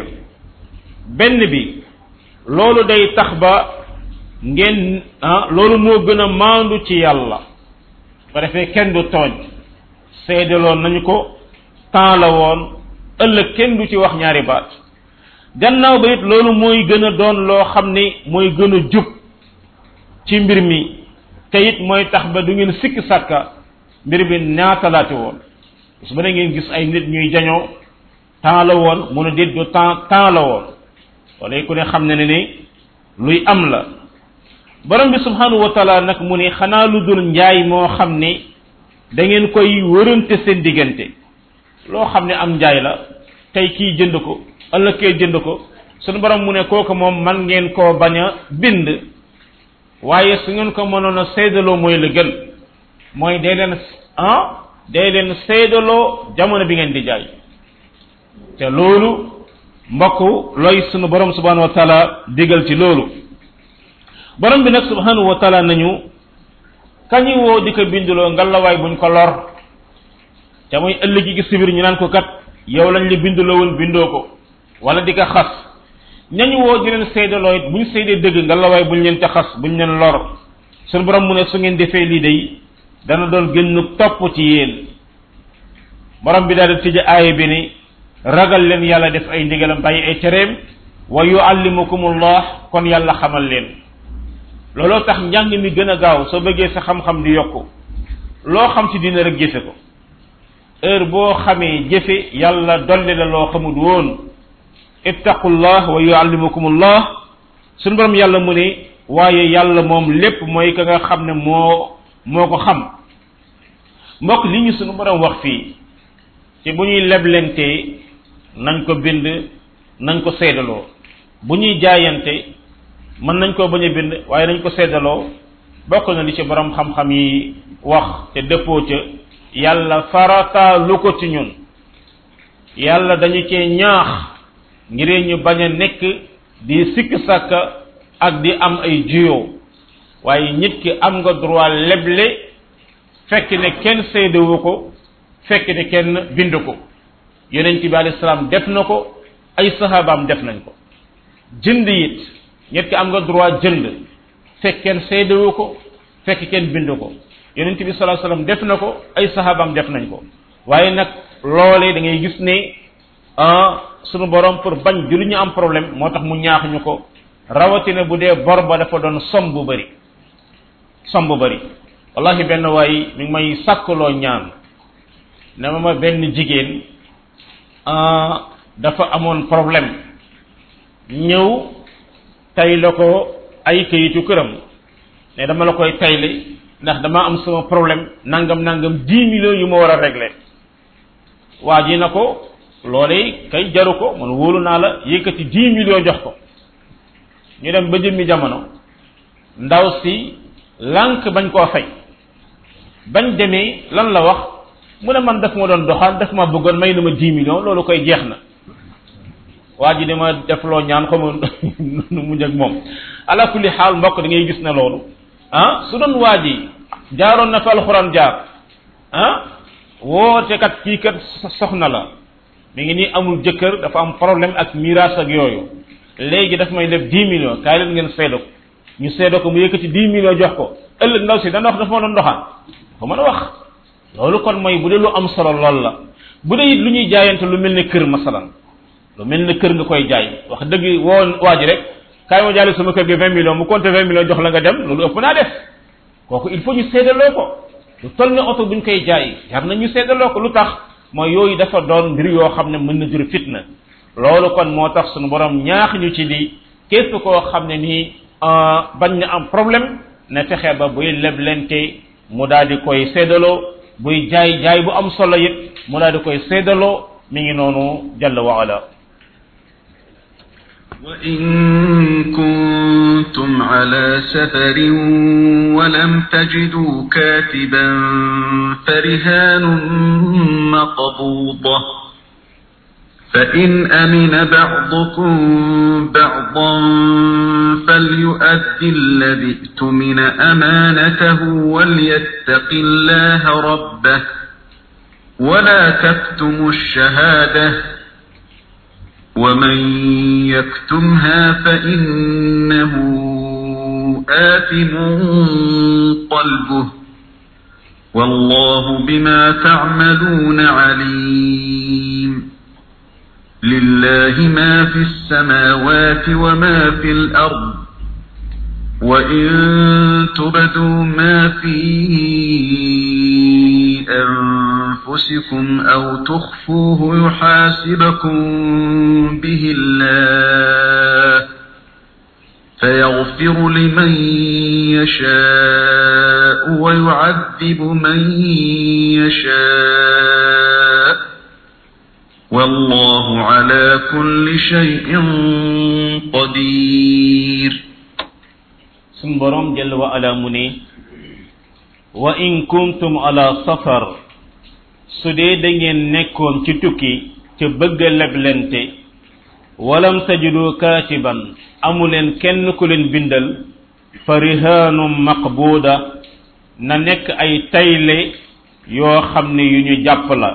benn bi loolu day tax ba ngeen ah loolu moo gën a maandu ci yàlla ba defee kenn du tooñ seedaloon nañu ko temps la woon ëllëg kenn du ci wax ñaari baat gannaaw ba it loolu mooy gën a doon loo xam ni mooy gën a jub ci mbir mi te it mooy tax ba du ngeen sikki sàkka mbir bi ñaatalaati woon su ba ne ngeen gis ay nit ñuy jañoo temps la woon mun a déet du temps temps la woon wala ku ne xam ne ne ni luy am la borom bi subhanahu wa taala nag mu ne xanaa lu dul njaay moo xam ne da ngeen koy wërante seen diggante loo xam ne am njaay la tey kii jënd ko ëllëg kee jënd ko sunu borom mu ne kooku moom man ngeen koo bañ a bind waaye su ngeen ko mënoon a seedaloo mooy la gën mooy day leen ah day leen seedaloo jamono bi ngeen di jaay te loolu mbokk looy sunu borom subhanahu wa taala digal ci loolu borom bi nag subhanahu wa taala nañu kañu woo di ko binduloo ngalawaay buñ ko lor te muy ëllëg gi sibir ñu naan ko kat yow lañ la binduloo woon bindoo ko wala di ko xas ñañu woo di leen seedaloo it buñ seedee dëgg ngalawaay buñ leen ca xas buñ leen lor sunu borom mu ne su ngeen defee lii day dana doon gën topp ci yéen borom bi daal di tëj aaya bi ni ragal leen yàlla def ay ndigalam bàyyi ay tereem wa yuallimukumullah kon yàlla xamal leen looloo tax njàng mi gën a gaaw soo bëggee sa xam-xam di yokku loo xam ci dina rek jëfe ko heure boo xamee jëfe yàlla dolli la loo xamul woon ittaqullah wa yuallimukumullah suñu borom yàlla mu ne waaye yàlla moom lépp mooy ka nga xam ne moo moo ko xam mbokk li ñu suñu borom wax fii ci bu ñuy leblentee nañ ko bind nañ ko seedaloo bu ñuy jaayante mën nañ koo bañ a bind waaye nañ ko seddaloo bokk na li ci borom xam-xam yi wax te dëppoo ca yàlla farata lu ko ci ñun yàlla dañu cee ñaax ngir ñu bañ a nekk di sikk sàkka ak di am ay juyoo waaye nit ki am nga droit leble fekk ne kenn seedewu ko fekk ne kenn bind ko yonent bi alayhi salaam def na ko ay sahabaam def nañ ko jënd it nit ki am nga droit jënd fekk kenn seedewu ko fekk kenn bind ko yonent bi sallallahu alayhi wasallam def na ko ay sahabaam def nañ ko waaye nag loolee da ngay gis ne ah sunu borom pour bañ julli ñu am problème moo tax mu ñaax ñu ko rawatina bu dee bor ba dafa doon som bu bëri som bu bëri wallahi benn waay mi ngi may sàkkaloo ñaan ne ma ma benn jigéen dafa amoon problème ñëw tay la ko ay kayitu këram ne dama la koy tayle ndax dama am sama problème nangam nangam dix millions yu ma war a régler waa ji na ko loolee kay jaru ko man wóolu naa la yëkkati dix millions jox ko ñu dem ba jëmmi jamono ndaw si lànk bañ koo fay bañ demee lan la wax mu ne man daf ma doon doxaan daf ma bëggoon may na ma dix millions loolu koy jeex na waa ji dama def loo ñaan xaw ma nu mujj ak moom ala kulli xaal mbokk da ngay gis ne loolu ah su doon waa ji jaaroon na fa alxuraan jaar ah woote kat kii kat soxna la mi ngi nii amul jëkkër dafa am problème ak miraas ak yooyu léegi daf may def dix millions kaay leen ngeen seedo ko ñu seedo ko mu yëkkati dix millions jox ko ëllëg ndaw si dana wax dafa ma doon doxaan ko mën a wax loolu kon mooy bu dee lu am solo lool la bu dee it lu ñuy jaayante lu mel ne kër masalan lu mel ne kër nga koy jaay wax dëgg woo waa ji rek kaay ma jaale sama kër gi vingt millions mu compté vingt millions jox la nga dem loolu ëpp naa def kooku il faut ñu seedaloo ko lu toll ne oto buñ koy jaay jar na ñu seedaloo ko lu tax mooy yooyu dafa doon mbir yoo xam ne mën na jur fitna loolu kon moo tax suñu borom ñaax ñu ci lii képp koo xam ne nii bañ na am problème na fexe ba buy leblente mu daal di koy seedaloo buy jaay jaay bu am solo it mu daal di koy seedaloo mi ngi noonu jalla wa ala وإن كنتم على سفر ولم تجدوا كاتبا فرهان مقبوضة فإن أمن بعضكم بعضا فليؤد الذي ائتمن أمانته وليتق الله ربه ولا تكتموا الشهادة ومن يكتمها فإنه آثم قلبه والله بما تعملون عليم لله ما في السماوات وما في الأرض وإن تبدوا ما في أنفسكم أو تخفوه يحاسبكم به الله فيغفر لمن يشاء ويعذب من يشاء والله على كل شيء قدير sun borom jalla wa ala mu ne wa in kuntum ala safar su dee da ngeen nekkoon ci tukki ca bëgg a leblente walam tajidu katiban amuleen kenn ku leen bindal fa rihanum maqbuda na nekk ay tayle yoo xam ne yu ñu jàpp la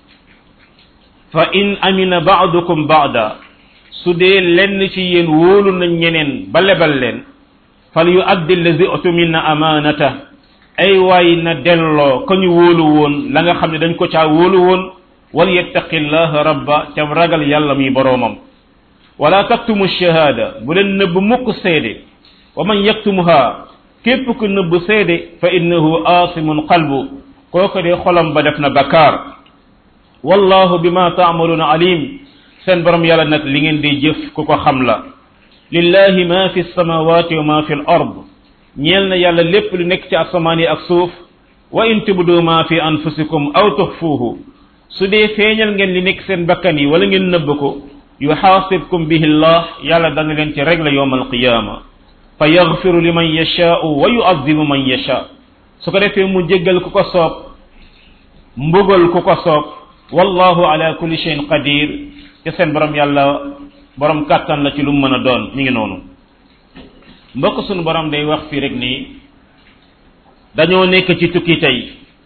fa in amina ba'dukum ba'da su dee lenn ci yéen wóolu nañ ñeneen ba lebal leen fal yu addi allazi utumina amanata ay waay na delloo ko ñu wóolu woon la nga xam ne dañ ko caa wóolu woon wal yattaqillaha rabba te ragal yàlla mi boroomam wala taktumu shahada bu leen nëbb mukk seede wa man yaktumuha képp ku nëbb seede fa innahu aasimun qalbu kooku de xolam ba def na bakkaar wallahu bima ta'maluna alim seen borom yàlla nag li ngeen di jëf ku ko xam la lillahi ma fi samawati wa ma fi al ard ñeel na yàlla lépp lu nekk ci asamaan yi ak suuf wa in tubdu ma fi anfusikum aw tukhfuhu su dee feeñal ngeen li nekk seen bakkan yi wala ngeen nëbb ko yuhasibkum bihi allah yàlla dana leen ci régler yawm al qiyama fa yaghfiru liman yasha'u wa yu'adhibu man yasha su ko defee mu jéggal ku ko soob mbugal ku ko soob wallahu ala kulli shay'in qadir te seen borom yàlla borom kàttan la ci lu mu mën a doon mi ngi noonu mbokk sunu borom day wax fii rek nii dañoo nekk ci tukki tey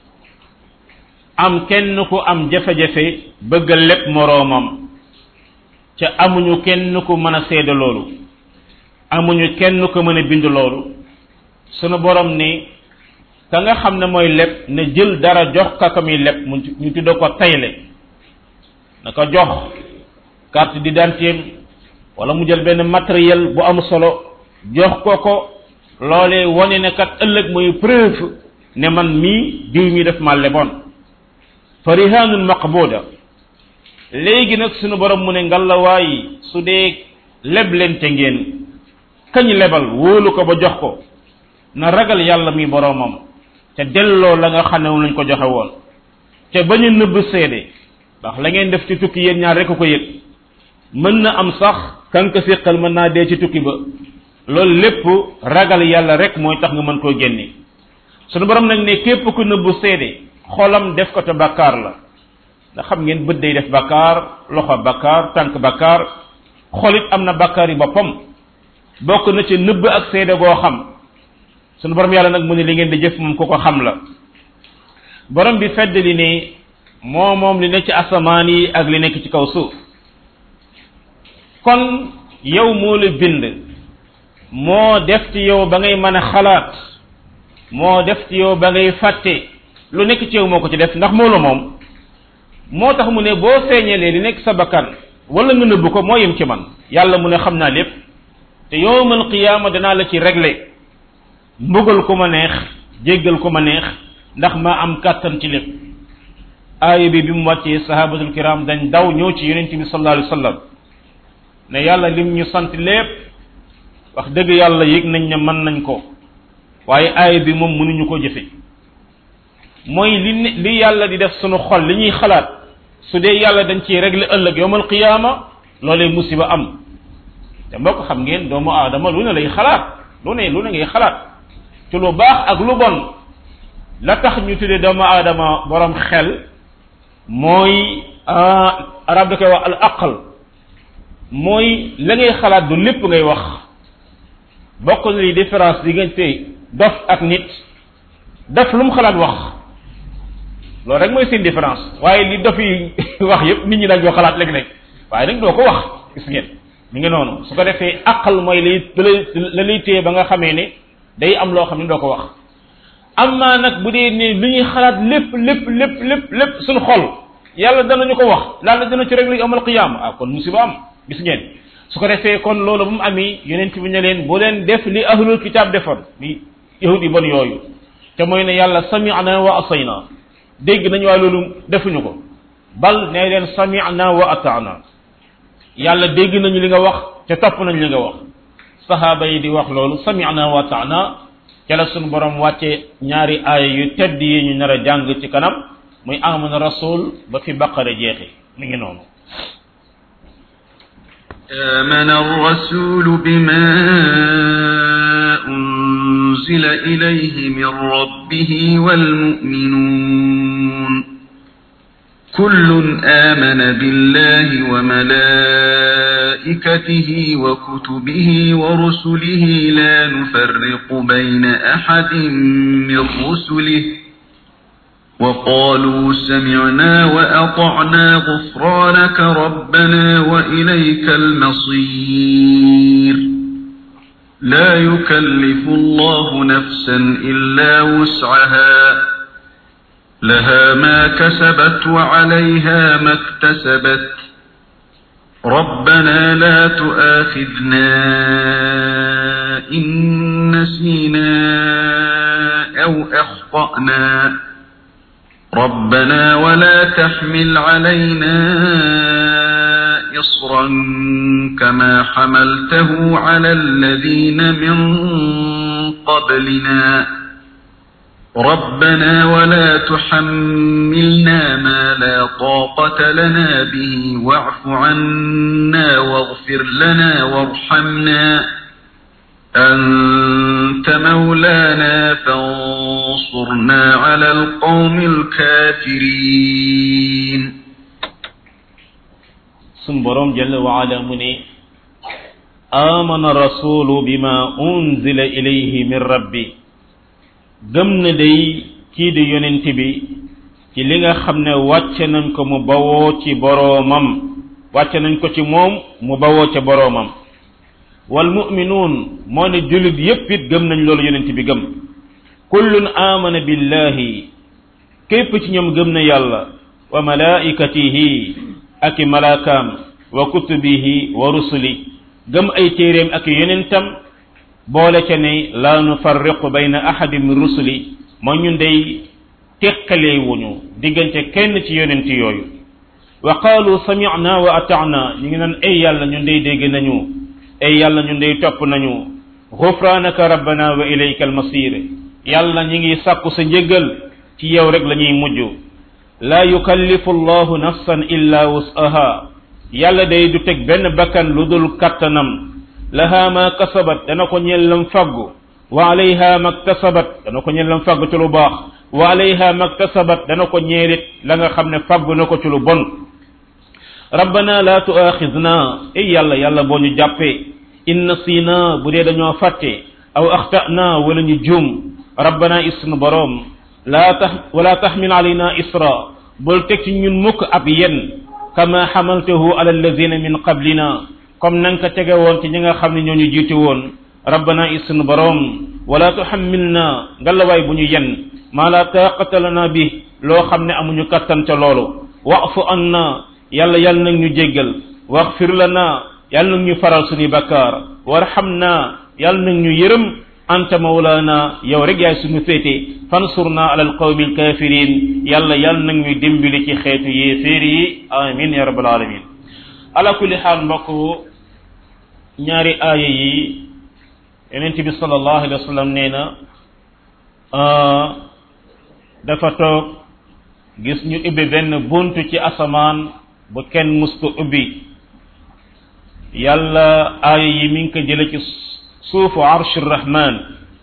am kenn ku am jafe-jafe bëgg a lépp moroomam ca amuñu kenn ku mën a seede loolu amuñu kenn ku mën a bind loolu sunu borom ni ka nga xam ne mooy lépp na jël dara jox ka ko muy lépp mu ñu tudd ko tayle na ko jox carte d'identité wala mu jël benn matériel bu am solo jox ko ko loolee wane ne kat ëllëg mooy preuve ne man mii diw mi def ma leboon farihanun maqbuda léegi nag sunu borom mu ne ngallaawaay su dee leblente ngeen kañ lebal wóolu ko ba jox ko na ragal yàlla mi boromam te delloo la nga xam ne lañ ko joxe woon te bañ a nëbb seede ndax la ngeen def ci tukki yéen ñaar rek ko yëg mën na am sax kan ko séqal mën naa dee ci tukki ba loolu lépp ragal yàlla rek mooy tax nga mën koo génne sunu borom nag ne képp ku nëbb seede xolam def ko te bakkaar la ndax xam ngeen bët day def bakkaar loxo bakkaar tànk bakkaar xolit am na bakkaar yi boppam bokk na ci nëbb ak seede goo xam sunu borom yàlla nag mu ne li ngeen di jëf moom ku ko xam la borom bi fedd li ne moo moom li nekk ci asamaan yi ak li nekk ci kaw suuf kon yow moo la bind moo def ci yow ba ngay mën a xalaat moo def ci yow ba ngay fàtte lu nekk ci yow moo ko ci def ndax moo la moom moo tax mu ne boo feeñalee li nekk sa bakkan wala nga nëbb ko moo yem ci man yàlla mu ne xam naa lépp te yawmal qiyaama danaa la ci régler mbugal ko ma neex jéggal ko ma neex ndax maa am kàttan ci lépp aaya bi bi mu wàccee sahabatul kiram dañ daw ñëw ci yonent bi sallallahu alayhi wa sallam ne yàlla lim ñu sant lépp wax dëgg yàlla yëg nañ ne mën nañ ko waaye aaya bi moom mënuñu ko jëfe mooy li li yàlla di def sunu xol li ñuy xalaat su dee yàlla dañ ciy régler ëllëg yawmal qiyaama loolee musiba am te mbokk xam ngeen doomu aadama lu ne lay xalaat lu ne lu ne ngay xalaat ci lu baax ak lu bon la tax ñu tuddee doomu aadama borom xel mooy arab da koy wax al aql mooy la ngay xalaat du lépp ngay wax bokk na li différence diggante dof ak nit dof lu mu xalaat wax loolu rek mooy seen différence waaye li dof yi wax yépp nit ñi dañ ko xalaat léeg-léeg waaye nag doo ko wax gis ngeen mi ngi noonu su ko defee aqal mooy lay la lay téye ba nga xamee ne day am loo xam ne doo ko wax amma nag bu dee ne lu ñuy xalaat lépp lépp lépp lépp lépp suñu xol yàlla danañu ko wax yàlla dana ci régler amal qiyaama ah kon musiba am gis ngeen su ko defee kon loolu bu mu amee yonent bi ne leen bu leen def li ahlul kitab defoon li yahud yi bon yooyu te mooy ne yàlla sami'na wa asayna dégg nañu waaye loolu defuñu ko bal ne leen sami'na wa ata'na yàlla dégg nañu li nga wax te topp nañu li nga wax sahaaba yi di wax loolu sami'na wa ata'na ca la sunu borom wàcce ñaari aaya yu tedd yi ñu nar a jàng ci kanam muy amana rasul ba fi baqara jeexi mi ngi noonu آمن الرسول بما أنزل إليه من ربه والمؤمنون كل آمن بالله وملائكته وكتبه ورسله لا نفرق بين أحد من رسله وقالوا سمعنا وأطعنا غفرانك ربنا وإليك المصير لا يكلف الله نفسا إلا وسعها لها ما كسبت وعليها ما اكتسبت ربنا لا تؤاخذنا إن نسينا أو أخطأنا ربنا ولا تحمل علينا إصرا كما حملته على الذين من قبلنا ربنا ولا تحملنا ما لا طاقة لنا به واعف عنا واغفر لنا وارحمنا أنت مولانا فانصرنا على القوم الكافرين سنبرم جل وعلا مني آمن الرسول بما أنزل إليه من ربي gëm na day kii di yonent bi ci li nga xam ne wàcce nañ ko mu bawoo ci boroomam wàcce nañ ko ci moom mu bawoo ca boroomam wal mu'minuun moo ne jullit yépp it gëm nañ loolu yonent bi gëm kullun amana billahi képp ci ñoom gëm na yàlla wa malaikatihi ak i malaakaam wa kutubihi wa rusuli gëm ay téeréem ak yonentam boole ca ne la nufarriqu bayna ahadin min rusuli moo ñun day tekkalee wuñu diggante kenn ci yonent yooyu wa qaalu sami'na wa ata'na ñu ngi naan ay yàlla ñun day dégg nañu ay yàlla ñun day topp nañu ghufranaka rabbana wa ilayka almasir yàlla ñi ngi sàkku sa njëgal ci yow rek la ñuy mujj la yukallifu allahu nafsan illa wus'aha yàlla day du teg benn bakkan lu dul kattanam laha ma kasabat dana ko ñeel lam faggu wa alayha maktasabat dana ko ñeel lam faggu ci lu baax wa alayha maktasabat dana ko ñeelit la nga xam ne faggu na ko ci lu bon rabbana la tu'akhidna ay yàlla yàlla boo ñu jàppee in nasina bu dee dañoo fàtte aw akhtana wala ñu juum rabbana isnu borom la tax wala tahmil alayna isra bul teg ci ñun mukk ab yen kama hamaltahu ala alladhina min qablina comme nang ko tege woon ci ñi nga xam ne ñoo ñu jiitu woon rabbana isnu borom wala tuhammilna ngalawaay bu ñu yen ma la taqata lana bi loo xam ne amuñu kattan ca loolu wa'fu anna yàlla yàlla nag ñu jéggal waghfir lana yàlla nag ñu faral suñu bakkaar warhamna yàlla nag ñu yërëm anta mawlana yow rek yaay suñu féete fansurna ala alqawmi alkafirin yàlla yàlla nag ñu dimbali ci xeetu yéeféer yi amin ya rabbal alamin ala kulli xaal mbokk ñaari aaya yi yonent bi sallallahu alayhi wa sallam nee na dafa toog gis ñu ubbi benn buntu ci asamaan bu kenn mus ko ubbi yàlla aaya yi mi ngi ko jële ci suufu arsh rahman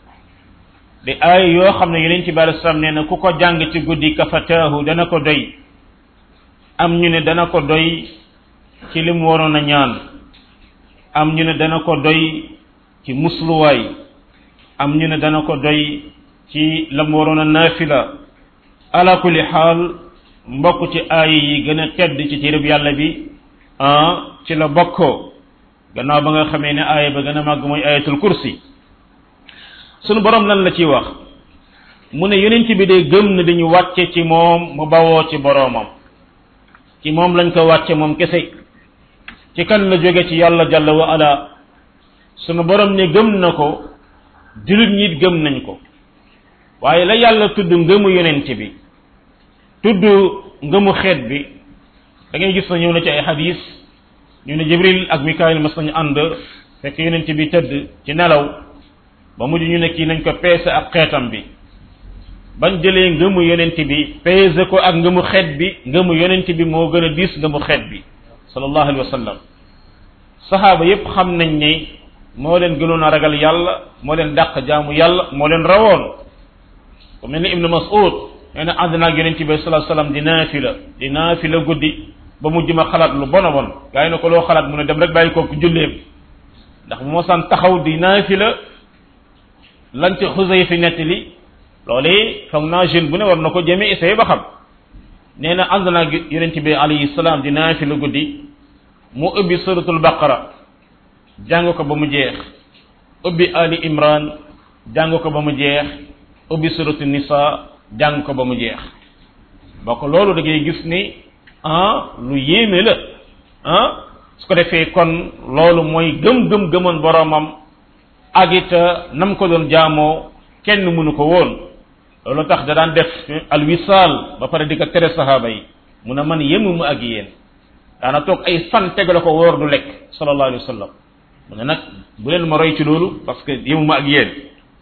di ay yoo xam ne yonent bi alei salaam nee na ku ko jàng ci guddi kafataahu dana ko doy am ñu ne dana ko doy ci lim waroon a ñaan am ñu ne dana ko doy ci musluwaay am ñu ne dana ko doy ci lam waroon a naafila ala kulli xaal mbokk ci aaya yi gën a tedd ci téereb yàlla bi ah ci la bokkoo gannaaw ba nga xamee ne aaya ba gën a màgg mooy ayatul kursi sunu borom lan la ciy wax mu ne yonent bi de gëm na dañu wàcce ci moom mu bawoo ci boroomam ci moom lañ ko wàcce moom kese ci kan la jóge ci yàlla jalla wa ala sunu borom ne gëm na ko jullit ñi gëm nañ ko waaye la yàlla tudd ngëmu yonent bi tudd ngëmu xeet bi da ngay gis na ñëw na ci ay xadis ñu ne jibril ak mikaayil mas nañu ànd fekk yonent bi tëdd ci nelaw ba mujj ñu ne kii nañ ko peese ak xeetam bi bañ jëlee ngëmu yonent bi peese ko ak ngëmu xeet bi ngëmu yonent bi moo gën a diis ngëmu xeet bi sallallahu alayhi wa sallam saxaaba yépp xam nañ ne moo leen gënoon a ragal yàlla moo leen dàq jaamu yàlla moo leen rawoon ku mel ni ibnu mas'ud nee na ànd naag yonent bi sallallahu alayhi wa sallam di naafila di naafila guddi ba mujj ma xalaat lu bon a bon gaa yi ne ko loo xalaat mu ne dem rek bàyyi kooku julleem ndax bu mosaan taxaw di naafila lan ci xusay fi nettali loolee foog naa jeune bu ne war na ko jëme essayé ba xam nee na ànd naag yonent bi alayhi salaam di naafila guddi mu ubbi suratul baqara jàng ko ba mu jeex ubbi ali imran jàng ko ba mu jeex ubbi suratul nisa jàng ko ba mu jeex bokk loolu da ngay gis ni ah lu yéeme la ah su ko defee kon loolu mooy gëm-gëm gëmoon boromam ak it nam ko doon jaamoo kenn mënu ko woon loolu tax da daan def alwisaal ba pare di ko tere sahaaba yi mu ne man yemuma ak yéen daana toog ay fan tegale ko wóor du lekk sallallahu alayhi wa sallam mu ne nag bu leen ma roy ci loolu parce que yemuma ak yéen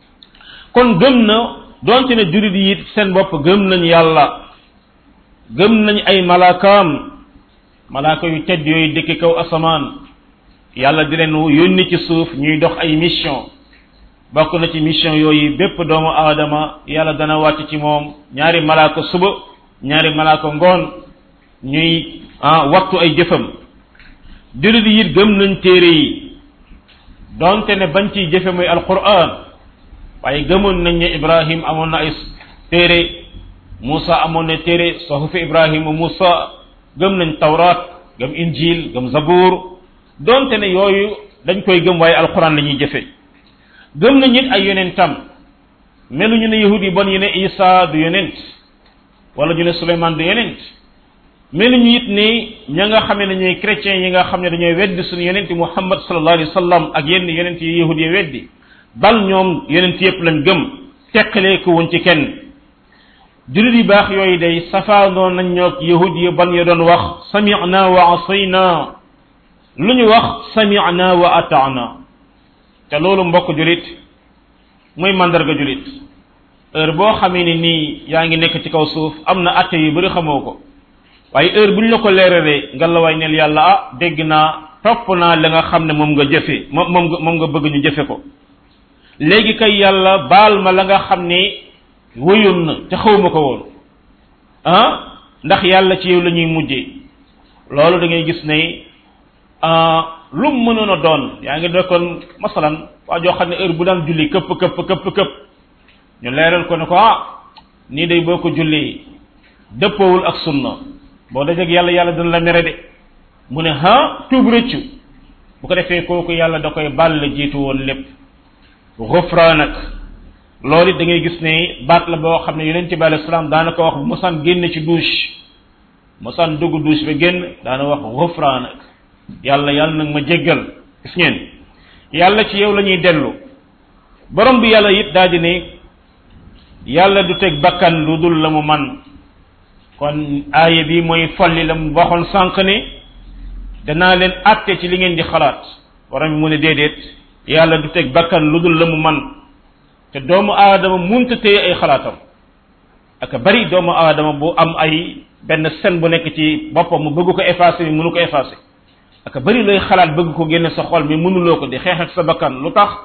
kon gëm na donte ne jurit yi it seen bopp gëm nañ yàlla gëm nañ ay malaakaam malaaka yu tedd yooyu dëkk kaw asamaan yàlla di leen yónni ci suuf ñuy dox ay mission bokk na ci mission yooyu bépp doomu aadama yàlla dana wàcc ci moom ñaari malaaka suba ñaari malaaka ngoon ñuy ah wattu ay jëfam julit yi it gëm nañ téere yi donte ne bañ ciy jëfe muy alquran waaye gëmoon nañ ne ibrahim amoon na ay téere Musa amoon na téere suhufi ibrahima Musa gëm nañ tawraat gëm injil gëm zabuur donte ne yooyu dañ koy gëm waaye alquran la ñuy jëfe gëm nañ it ay yonentam meluñu ne yahud yi bon yi ne Isa du yonent wala ñu ne Suleymaan du yonent meluñu it ni ña nga xamee ne ñooy chrétiens yi nga xam ne dañooy weddi suñu yonent Muhammad sallallahu alayhi wa sallam ak yenn yonent yi yahud yi weddi bal ñoom yonent yépp lañ gëm teqalee ko woon ci kenn julit yi baax yooyu day safaanoo nañ ñoog yahud yi ban ya doon wax sami'na wa asayna lu ñu wax sami'na wa ata'na te loolu mbokk julit muy mandarga julit heure boo xamee ni nii yaa ngi nekk ci kaw suuf am na atte yu bari xamoo ko waaye heure bu ñu la ko leeralee nga la waay neel yàlla ah dégg naa topp naa la nga xam ne moom nga jëfe moom moom nga moom nga bëgg ñu jëfe ko léegi kay yàlla baal ma la nga xam ne wëyoon na te xawma ko woon ah ndax yàlla ci yow la ñuy mujjee loolu da ngay gis ne lu mu mënoon a doon yaa ngi dekkoon masalan waa joo xam ne heure bu daan julli këpp këpp këpp këpp ñu leeral ko ne ko ah nii day boo ko julli dëppoowul ak sunna boo dajeg yàlla yàlla dana la mere de mu ne ha tuub rëccu bu ko defee kooku yàlla da koy baal la jiitu woon lépp gufraanak loolu it da ngay gis ne baat la boo xam ne yonent bi alayhi salaam daana ko wax bu mosaan génn ci douche mosaan dugg douche ba génn daana wax gufraanak yàlla yàlla nag ma jéggal gis ngeen yàlla ci yow la ñuy dellu borom bi yàlla it daal di ne yàlla du teg bakkan lu dul la mu man kon aaya bi mooy folli la mu waxoon sànq ne danaa leen àtte ci li ngeen di xalaat borom bi mu ne déedéet yàlla du teg bakkan lu dul la mu man te doomu aadama munta téye ay xalaatam ak bari doomu aadama bu am ay benn scène bu nekk ci boppam mu bëgg ko effacer mi mënu ko effacer ak bari looy xalaat bëgg ko génne sa xol mi mënuloo ko di xeex ak sa bakkan lu tax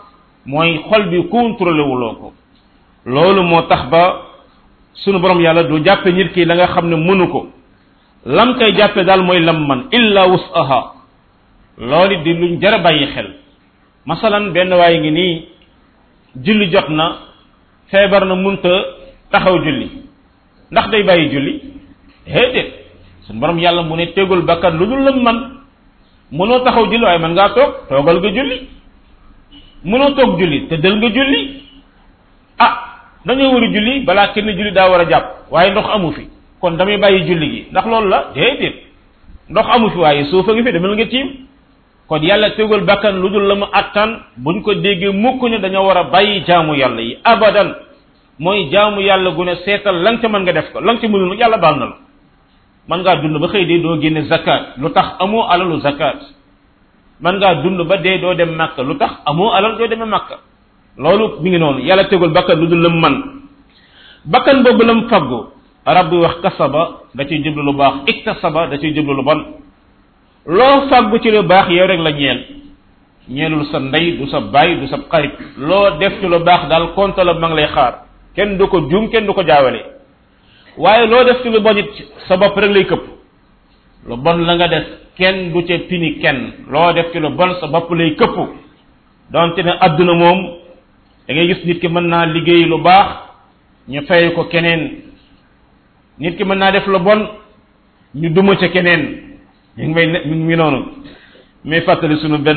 mooy xol bi contrôlé wuloo ko loolu moo tax ba sunu borom yàlla du jàppe nit ki la nga xam ne mënu ko lam koy jàppe daal mooy lam man illa wusaha loolu di luñ jar a bàyyi xel masalan benn waaye ngi nii julli jot na feebar na munta taxaw julli ndax day bàyyi julli déedéet sunu borom yàlla mu ne tegul bakkan lu dul lam man mënoo taxaw julli waaye mën ngaa toog toogal nga julli mënoo toog julli te del nga julli ah dañoo war a julli balaa kenn julli daa war a jàpp waaye ndox amu fi kon damay bàyyi julli gi ndax loolu la déedéet ndox amu fi waaye suufa ngi fi demal nga tiim kon yàlla tegul bakkan lu dul la mu attan buñ ko déggee mukk ne dañoo war a bàyyi jaamu yàlla yi abadan mooy jaamu yàlla gu ne seetal lan ca mën nga def ko lan ca mënul yàlla baal na la man ngaa dund ba xëy dee doo génne zakat lu tax amoo alalu zakat man ngaa dund ba dee doo dem makka lu tax amoo alal doo demee makka loolu mi ngi noonu yàlla tegul bakkan lu dul lam man bakkan boobu lam faggu arab bi wax kasaba da ciy jublu lu baax iktasaba da ciy jublu lu bon loo faggu ci lu baax yow rek la ñeel ñeelul sa ndey du sa baay du sa xarit loo def ci lu baax daal konta la ma ngi lay xaar kenn du ko juum kenn du ko jaawale waaye loo def ci lu bon it sa bopp rek lay këpp lu bon la nga def kenn du ca pini kenn loo def ci lu bon sa bopp lay këpp donte ne adduna moom da ngay gis nit ki mën naa liggéey lu baax ñu fay ko keneen nit ki mën naa def lu bon ñu duma ca keneen ñu ngi may ñu ngi noonu mais fàttali sunu benn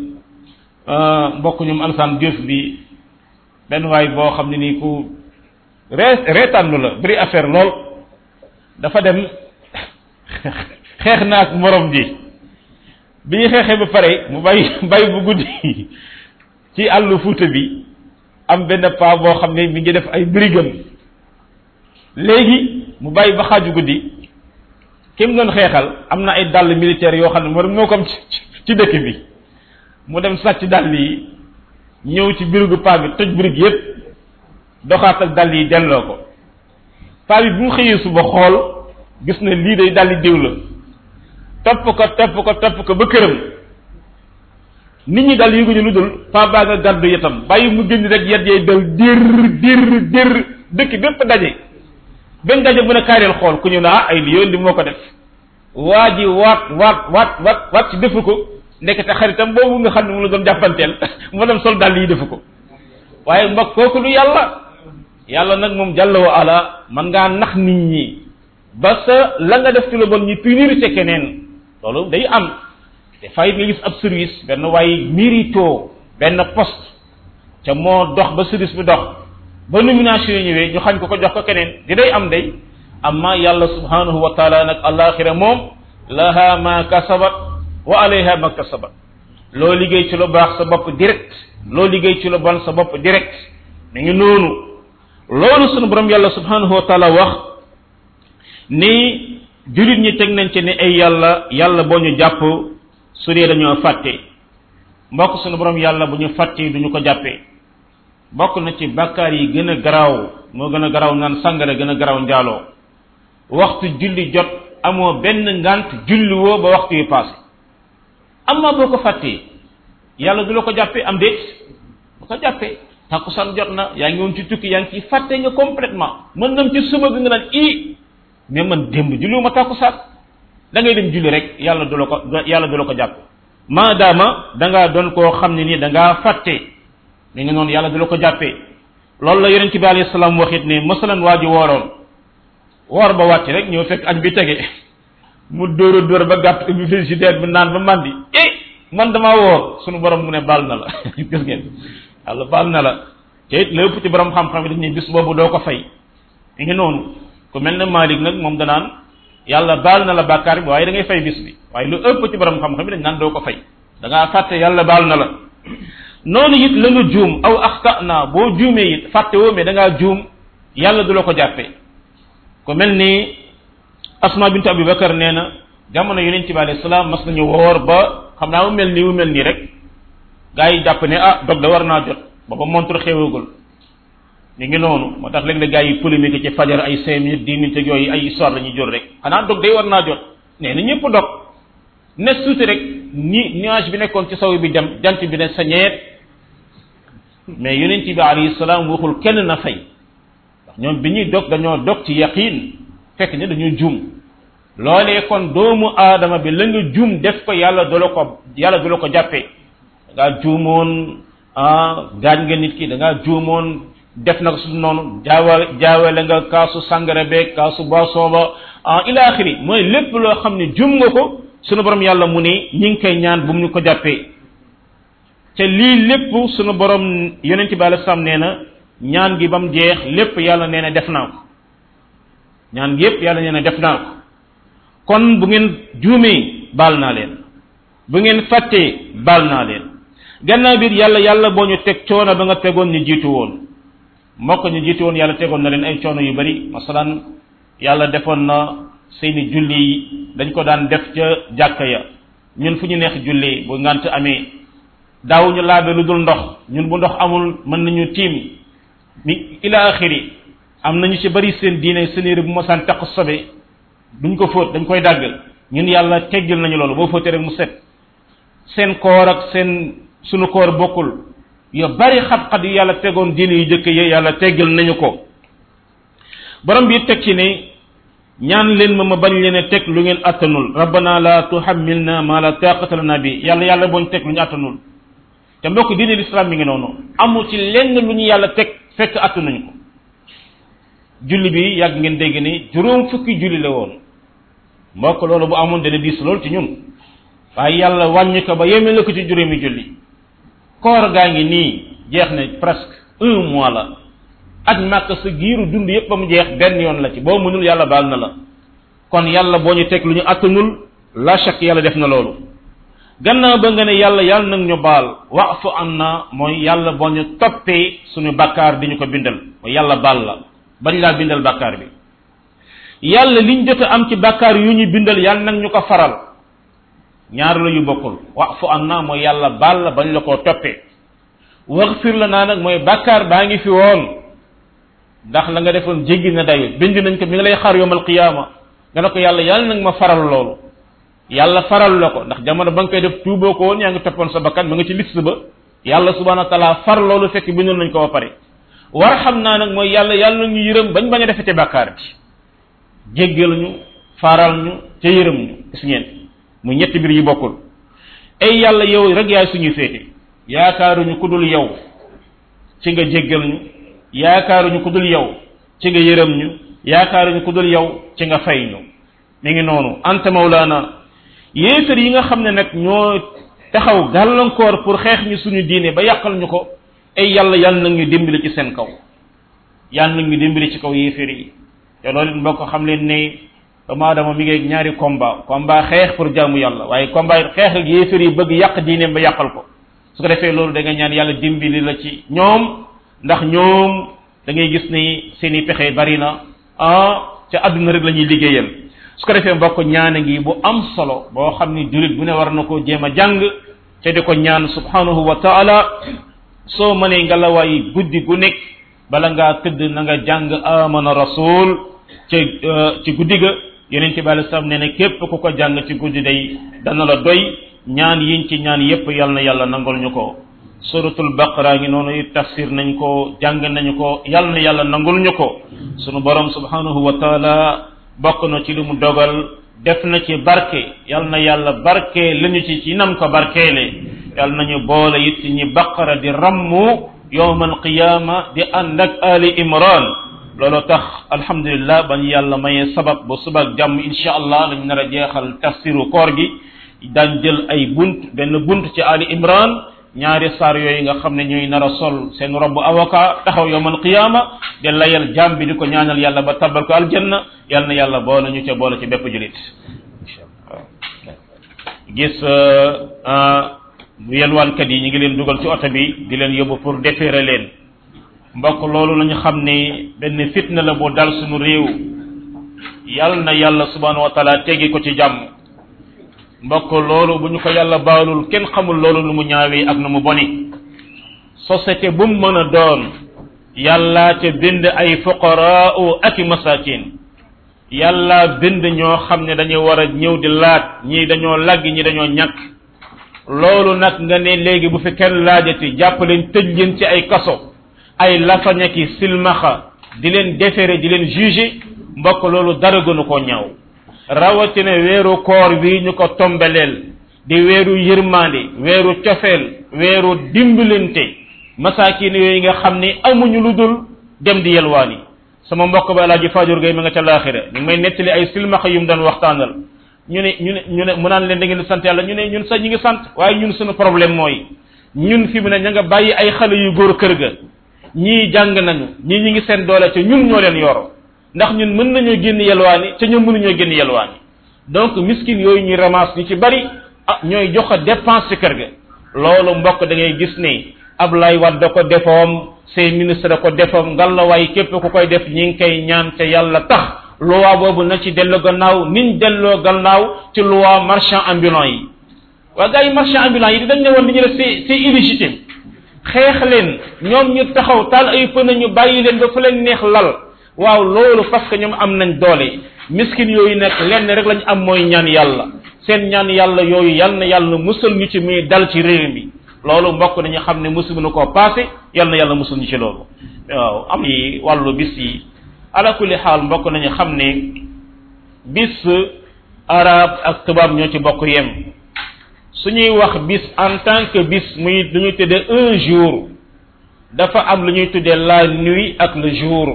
mbokk ñum Alassane Diouf bi benn waay boo xam ne nii ku ree reetaanlu la bëri affaire lool dafa dem xeex na ak morom ji bi ñu xeexee ba pare mu bàyyi bàyyi bu guddi ci àllu Fuuta bi am benn paa boo xam ne mi ngi def ay brigam léegi mu bàyyi ba xaaju guddi ki mu doon xeexal am na ay dàll militaire yoo xam ne moo moo ko am ci dëkk bi mu dem sàcc dàll yi ñëw ci birigu paa bi toj birig yépp doxaat ak dàll yi delloo ko paa bi bu mu xëyee suba xool gis na lii day dàlli diw la topp ko topp ko topp ko ba këram nit ñi daal yëguñu lu dul paa baa nga gàddu yetam bàyyi mu génn rek yet yay dal dir dir dir dëkk bépp daje benn daje mën a kaareel xool ku ñu ne ah ay li yoon di moo ko def waa ji waat waat waat waat waat ci defu ko ndekete xaritam boobu nga xam ne mu la doon jàppanteel mu dem sol dàll yi defu ko waaye mbokk kooku lu yàlla yàlla nag moom jàlla wa ala man ngaa nax nit ñi ba sa la nga def ci lu bon ñi punir ca keneen loolu day am te fayit nga gis ab service benn waaye mérito benn poste ca moo dox ba service bi dox ba nomination yi ñëwee ñu xañ ko ko jox ko keneen di day am day amma yàlla subhanahu wa taala nag alaxira moom laha ma kasabat wa alayha ma kasabat loo liggéey ci lu baax sa bopp direct loo liggéey ci lu bon sa bopp direct mi ngi noonu loolu sunu borom yàlla subhanahu wa taala wax ni julit ñi teg nañ ci ne ay yàlla yàlla boo ñu jàpp su dee dañoo fàtte mbokk sunu borom yàlla bu ñu fàtte duñu ko jàppee bokk na ci bàkkaar yi gën a garaaw moo gën a garaaw naan sàngara gën a garaaw njaaloo waxtu julli jot amoo benn ngant julli woo ba waxtu yi passé amma boo ko fàttee yàlla du la ko jàppee am déet bu ko jàppee takkusaan jot na yaa ngi woon ci tukki yaa ngi ci fàtte nga complètement mën nam ci suba bi nga naan i mais man démb julliwu ma takkusaan da ngay dem julli rek yàlla du la ko yàlla du la ko jàpp maadaama da ngaa doon koo xam ne nii da ngaa fàtte mi ngi noonu yàlla du la ko jàppee loolu la yonent bi alayhi salaam waxit ne masalan waa ji wooroon woor ba wàcc rek ñëw fekk añ bi tege mu dóora dóor ba gàtt bi frigidaire bi naan ba mandi eh man damaa woor sunu borom mu ne baal na la gis ngeen yàlla baal na la te it lépp ci borom xam-xam yi dañ ne bis boobu doo ko fay mi ngi noonu ku mel ne Malik nag moom danaan yàlla baal na la bàkkaar bi waaye da ngay fay bis bi waaye lu ëpp ci borom xam-xam yi dañ naan doo ko fay da ngaa fàtte yàlla baal na la noonu it la nga juum aw axta naa boo juumee it fàtte woo mais da ngaa juum yàlla du la ko jàppee ku mel ni Asma bint Abi Bakar nee na jamono yonent bi alayhi salaam mas nañu woor ba xam naa mu mel nii mu mel nii rek gaa yi jàpp ne ah dog da war naa jot booba montre xewagul mi ngi noonu moo tax léeg-léeg gaa yi polémique ci fajar ay cinq minutes dix minutes yooyu ay histoire la ñuy jor rek xanaa dog day war naa jot nee na ñëpp dog ne suuti rek ni nuage bi nekkoon ci saw bi dem jant bi ne sa ñeet mais yonent bi alayhi salaam waxul kenn na fay ndax ñoom bi ñuy dog dañoo dog ci yaqiin fekk ne dañoo juum loolee kon doomu aadama bi la nga juum def ko yàlla du la ko yàlla du la ko jàppee da ngaa juumoon ah gaañ nga nit ki da ngaa juumoon def na ko su noonu jaawa jaawale nga kaasu sangara beeg kaasu boisson ba ah ila axiri mooy lépp loo xam ne juum nga ko sunu borom yàlla mu ne ñi ngi koy ñaan bu mu ñu ko jàppee te lii lépp sunu borom yonent bi alayhi salaam nee na ñaan gi ba mu jeex lépp yàlla nee na def naa ko ñaan gi yépp yàlla nee na def naa ko kon bu ngeen juumee baal naa leen bu ngeen fàttee baal naa leen gannaaw biir yàlla yàlla boo ñu teg coono ba nga tegoon ñu jiitu woon mbokk ñu jiitu woon yàlla tegoon na leen ay coono yu bari masalan yàlla defoon na seeni julli yi dañ ko daan def ca jàkka ya ñun fu ñu neex julli bu ngant amee daawuñu laabe lu dul ndox ñun bu ndox amul mën nañu tiim mi ila axiri am nañu ci bari seen diine seen yére bu mosaan taq sobe duñ ko fóot dañ koy dàgg ñun yàlla teggil nañu loolu boo fóotee rek mu set seen koor ak seen sunu koor bokkul yo bari xat-xat yu yàlla tegoon diine yu jëkk yi yàlla teggil nañu ko borom bi teg ci ne ñaan leen ma ma bañ leen a teg lu ngeen attanul rabbana la tuhammilna ma la taqata lana bi yàlla yàlla boo ñu teg lu ñu attanul te mbokk diine l'islam mi ngi noonu amul ci lenn lu ñu yàlla teg fekk attanuñu ko julli bi yàgg ngeen dégg ni juróom fukki julli la woon mbokk loolu bu amoon dana diis lool ci ñun waaye yàlla wàññi ko ba yemee la ko ci juróomi julli koor gaa ngi nii jeex na presque un mois la ak màkk sa giiru dund yépp ba mu jeex benn yoon la ci boo mënul yàlla baal na la kon yàlla boo ñu teg lu ñu attanul la chak yàlla def na loolu gannaaw ba nga ne yàlla yàlla nag ñu baal wa'fu anna mooy yàlla boo ñu toppee suñu bakkaar di ñu ko bindal mooy yàlla baal la bañ laa bindal bakkaar bi yàlla liñ jot a am ci bakkaar yu ñu bindal yàlla nag ñu ko faral ñaar la yu bokkul wa'fu anna mooy yàlla baal la bañ la koo toppee waghfir lana nag mooy bakkaar baa ngi fi woon ndax la nga defoon jéggi na dayo bind nañ ko mi ngi lay xaar yawmal qiyaama nga ne ko yàlla yàlla nag ma faral loolu yàlla faral la ko ndax jamono ba nga koy def tuuboo ko woon yaa ngi toppoon sa bakkan ma nga ci liste ba yàlla subhanahu wa taala far loolu fekk bindal nañ ko ba pare war xam naa nag mooy yàlla yàlla ñu yërëm bañ bañ a defete bàkkaar bi jéggal ñu faral ñu ca yërëm ñu gis ngeen mu ñetti mbir yi bokkul ay yàlla yow rek yaay suñuy féete yaakaaruñu ku dul yow ci nga jéggal ñu yaakaaruñu ku dul yow ci nga yërëm ñu yaakaaruñu ku dul yow ci nga fay ñu mi ngi noonu anta mawlaana yéefar yi nga xam ne nag ñoo taxaw gàllankoor pour xeex ñu suñu diine ba yàqal ñu ko ay yàlla yàlla nag ñu dimbali ci seen kaw yàlla nag ñu dimbali ci kaw yéefar yi te loolu mbokk xam leen ne doomu aadama mi ngi ñaari combat combat xeex pour jaamu yàlla waaye combat xeex ak yéefar yi bëgg yàq diineem ba yàqal ko su ko defee loolu da nga ñaan yàlla dimbali la ci ñoom ndax ñoom da ngay gis ni seen i pexe bari na ah ca àdduna rek la ñuy liggéeyal su ko defee mbokk ñaane ngi bu am solo boo xam ni julit bu ne war na koo jéem a jàng te di ko ñaan subhanahu wa taala soo mënee nga la waay guddi gu nekk bala ngaa tëdd na nga jàng amana rasul ci ci guddi ga yeneen ci bàyyi sam ne ne képp ku ko jàng ci guddi day dana la doy ñaan yiñ ci ñaan yépp yal na yàlla nangol ñu ko suratul baqara ngi noonu it tafsir nañ ko jàng nañu ko yal na yàlla nangul ñu ko sunu borom subhanahu wa taala bokk na ci li mu dogal def na ci barke yal na yàlla barke lañu ci ci nam ko barkeele yal nañu boole it ci ñi baqara di rammu yawmal qiyama di ànd ak ali imran loolu tax alhamdulillah bañ yàlla mayee sabab ba subak jàmm insha allah lañ nar a jeexal tafsiru koor gi daan jël ay bunt benn bunt ci ali imran ñaari saar yooyu nga xam ne ñooy nar a sol seen robb avocat taxaw yawmal qiyama de layal jàmm bi di ko ñaanal yàlla ba tabal ko aljanna yal na yàlla boole ñu ca boole ci bépp julit gis yelwaankat yi ñu ngi leen dugal ci oto bi di leen yóbbu pour déférer leen mbokk loolu lañu xam ne benn fitna la bu dal suñu réew yal na yàlla subhanahu wa taala teggi ko ci jàmm mbokk loolu bu ñu ko yàlla baalul kenn xamul loolu lu mu ñaawee ak nu mu boni société bu mu mën a doon yàlla ca bind ay fuqaraa ak i masakin yàlla bind ñoo xam ne dañu war a ñëw di laat ñii dañoo lagg ñi dañoo ñàkk loolu nag nga ne léegi bu fi kenn laajati jàpp leen tëj leen ci ay kaso ay lafañaki silmaxa di leen déféré di leen juger mbokk loolu dara gënu koo ñaaw rawatina weeru koor bii ñu ko tombeleel di weeru yërmande weeru cofeel weeru dimbalante masaakin yooyu nga xam ni amuñu lu dul dem di yelwaani sama mbokk ba alaaji Fajur Gay ma nga ca laaxira ñu ngi may nettali ay silmaxa yu mu doon waxtaanal ñu ne ñu ne ñu ne mu naan leen da ngeen di sant yàlla ñu ne ñun sax ñi ngi sant waaye ñun suñu problème mooy ñun fi mu ne ña nga bàyyi ay xale yu góor kër ga ñii jàng nañu ñii ñi ngi seen doole ca ñun ñoo leen yor ndax ñun mën nañoo génn yelwaani ca ñoom mënuñoo génn yelwaani donc miskin yooyu ñuy ramasse ñu ci bari ah ñooy joxe dépense ci kër ga loolu mbokk da ngay gis ne Ablaye Wade da ko defoom ses ministre da ko defoom ngallaawaay képp ku koy def ñi ngi koy ñaan te yàlla tax loi boobu na ci delloo gannaaw niñ delloo gannaaw ci loi marchand ambulant yi waa gars yi marchand ambulant yi dañ ne woon li ñu def c'est c'est illégitime xeex leen ñoom ñu taxaw taal ay pneu ñu bàyyi leen ba fu leen neex lal waaw loolu parce que ñoom am nañ doole miskin yooyu nag lenn rek lañ am mooy ñaan yàlla seen ñaan yàlla yooyu yal na yàlla musal ñu ci muy dal ci réew mi loolu mbokk nañu xam ne musu na koo passé yal na yàlla musal ñu ci loolu waaw am yi wàllu bis yi ala kulli xaal mbokk nañu xam ne bis arab ak tubaab ñoo ci bokk yem suñuy wax bis en tant que bis muy lu ñuy tuddee un jour dafa am lu ñuy tuddee la nuit ak le jour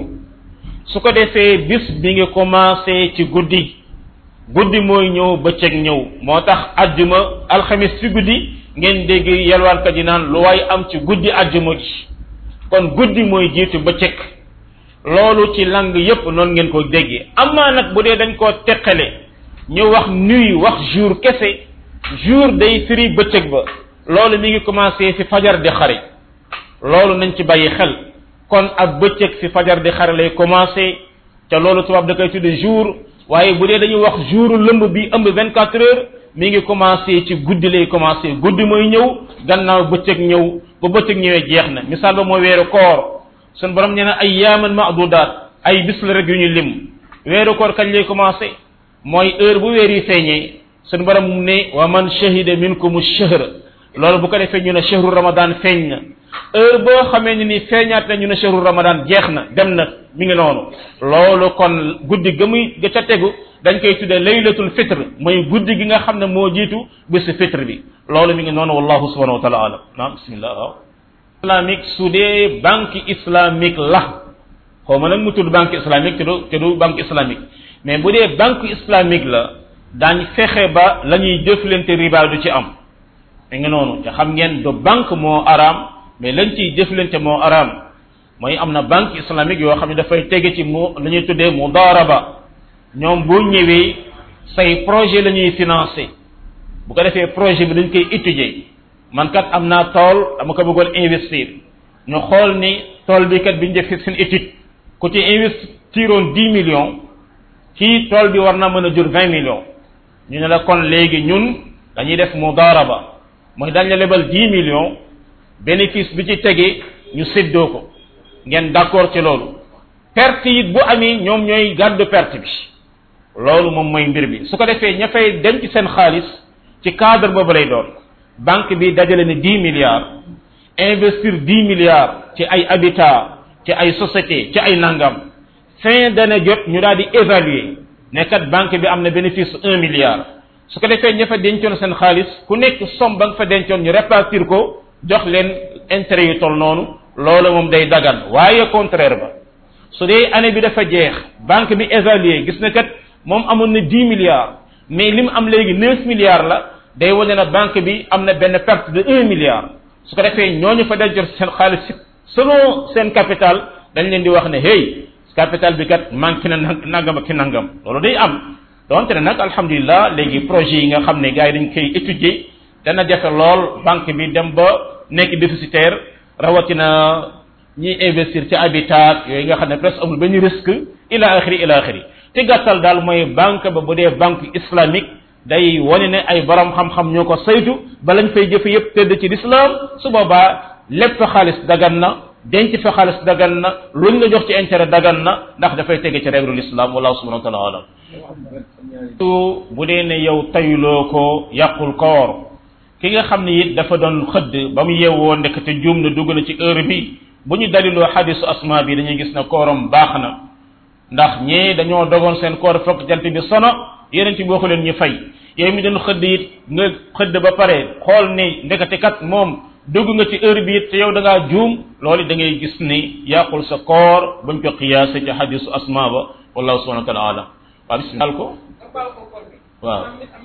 su ko defee bis bi nga commencé ci guddi guddi mooy ñëw bëccëg ñëw moo tax ajjuma alxamis ci guddi ngeen dégg yelwaankat yi naan lu waay am ci guddi ajjuma ji kon guddi mooy jiitu bëccëg loolu ci lang yépp noonu ngeen ko déggee amaa nag bu dee dañ koo teqale ñu wax nuit wax jour kese jour day firi bëccëg ba loolu mi ngi commencé fi fajar di xare loolu nañ ci bàyyi xel kon ak bëccëg fi fajar di xare lay commencé te loolu tubaab da koy tudde jour waaye bu dee dañuy wax jour lëmb bi ëmb vingt quatre heures mi ngi commencé ci guddi lay commencé guddi mooy ñëw gannaaw bëccëg ñëw ba bëccëg ñëwee jeex na misaal ba mooy weeru koor sun borom nee na ay yaaman maadudaat ay bis la rek yu ñu lim weeru koor kañ lay commencé mooy heure bu weer yi feeñee sun borom ne wa man shahida minkum ash-shahr loolu bu ko defee ñu ne shahru ramadan feeñ na heure boo xamee ni ni feeñaat na ñu ne shahru ramadan jeex na dem na mi ngi noonu loolu kon guddi ga muy ga ca tegu dañ koy tuddee laylatul fitr mooy guddi gi nga xam ne moo jiitu bésu fitr bi loolu mi ngi noonu wallahu subhanahu wa taala alam naam bismillah waaw islamique su dee banque islamique la xaw ma nag mu tudd banque islamique te du te du banque islamique mais bu dee banque islamique la daañ fexe ba la ñuy jëflante riba du ci am mi ngi noonu te xam ngeen du banque moo araam mais lañ ciy jëflante moo araam mooy am na banque islamique yoo xam ne dafay tege ci mu la ñuy tuddee mudaraba ñoom boo ñëwee say projet la ñuy financé bu ko defee projet bi dañ koy étudier man kat am naa tool dama ko bëggoon investir ñu xool ni tool bi kat bi ñu def seen étude ku ci investiroon dix millions ci tool bi war na mën a jur vingt millions ñu ne la kon léegi ñun dañuy def mudaraba mooy dañ la lebal dix millions bénéfice bi ci tege ñu séddoo ko ngeen d'accord ci loolu perte it bu amee ñoom ñooy gàddu perte bi loolu moom mooy mbir bi su ko defee ña fay dem ci seen xaalis ci cadre boobu lay doon banque bi dajale ne dix milliards investir dix milliards ci ay habitat ci ay société ci ay nangam fin d'année jot ñu daal di évaluer ne kat banque bi am na bénéfice un milliard su ko defee ña fa dencoon seen xaalis ku nekk somme ba nga fa dencoon ñu répartir ko jox leen intérêt yu toll noonu loolu moom day dagan waaye contraire ba su dee année bi dafa jeex banque bi évaluer gis na kat moom amoon na dix milliards mais li mu am léegi neuf milliards la day wane na banque bi am na benn perte de un milliard su ko defee ñooñu fa dencoon seen xaalis selon seen capital dañ leen di wax ne hey capital bi kat manqué na nangam ak nangam loolu day am donte ne nag alhamdulilah léegi projet yi nga xam ne gars yi dañ koy étudier dana jafe lool banque bi dem ba nekk déficitaire rawatina ñiy investir ci habitat yooyu nga xam ne presque amul benn risque ila axiri ila axiri te gàttal daal mooy banque ba bu dee banque islamique day wane ne ay borom xam-xam ñoo ko saytu ba lañ fay jëfe yépp tëdd ci l'islam su boobaa lépp fa xaalis dagan na denc fa xaalis dagan na luñ la jox ci intérêt dagan na ndax dafay tege ci règle l'islam wallahu subhanahu wa ta'ala alam bu dee ne yow tayuloo ko yàqul koor ki nga xam ne it dafa doon xëdd ba mu yeewoo ndekete juum na dugg na ci heure bi bu ñu daliloo xadisu asma bi dañuy gis ne kooram baax na ndax ñee dañoo dogoon seen koor fokk jant bi sono yeneen ci waxu leen ñu fay yow mi doon xëdd it nga xëdd ba pare xool ni ndekete kat moom dugg nga ci heure bi it te yow da ngaa juum loolu da ngay gis ni yàqul sa koor bañ ko qiyaase ci xadisu asma ba wallahu subhanahu wa taala alam waaw bismillah ko waaw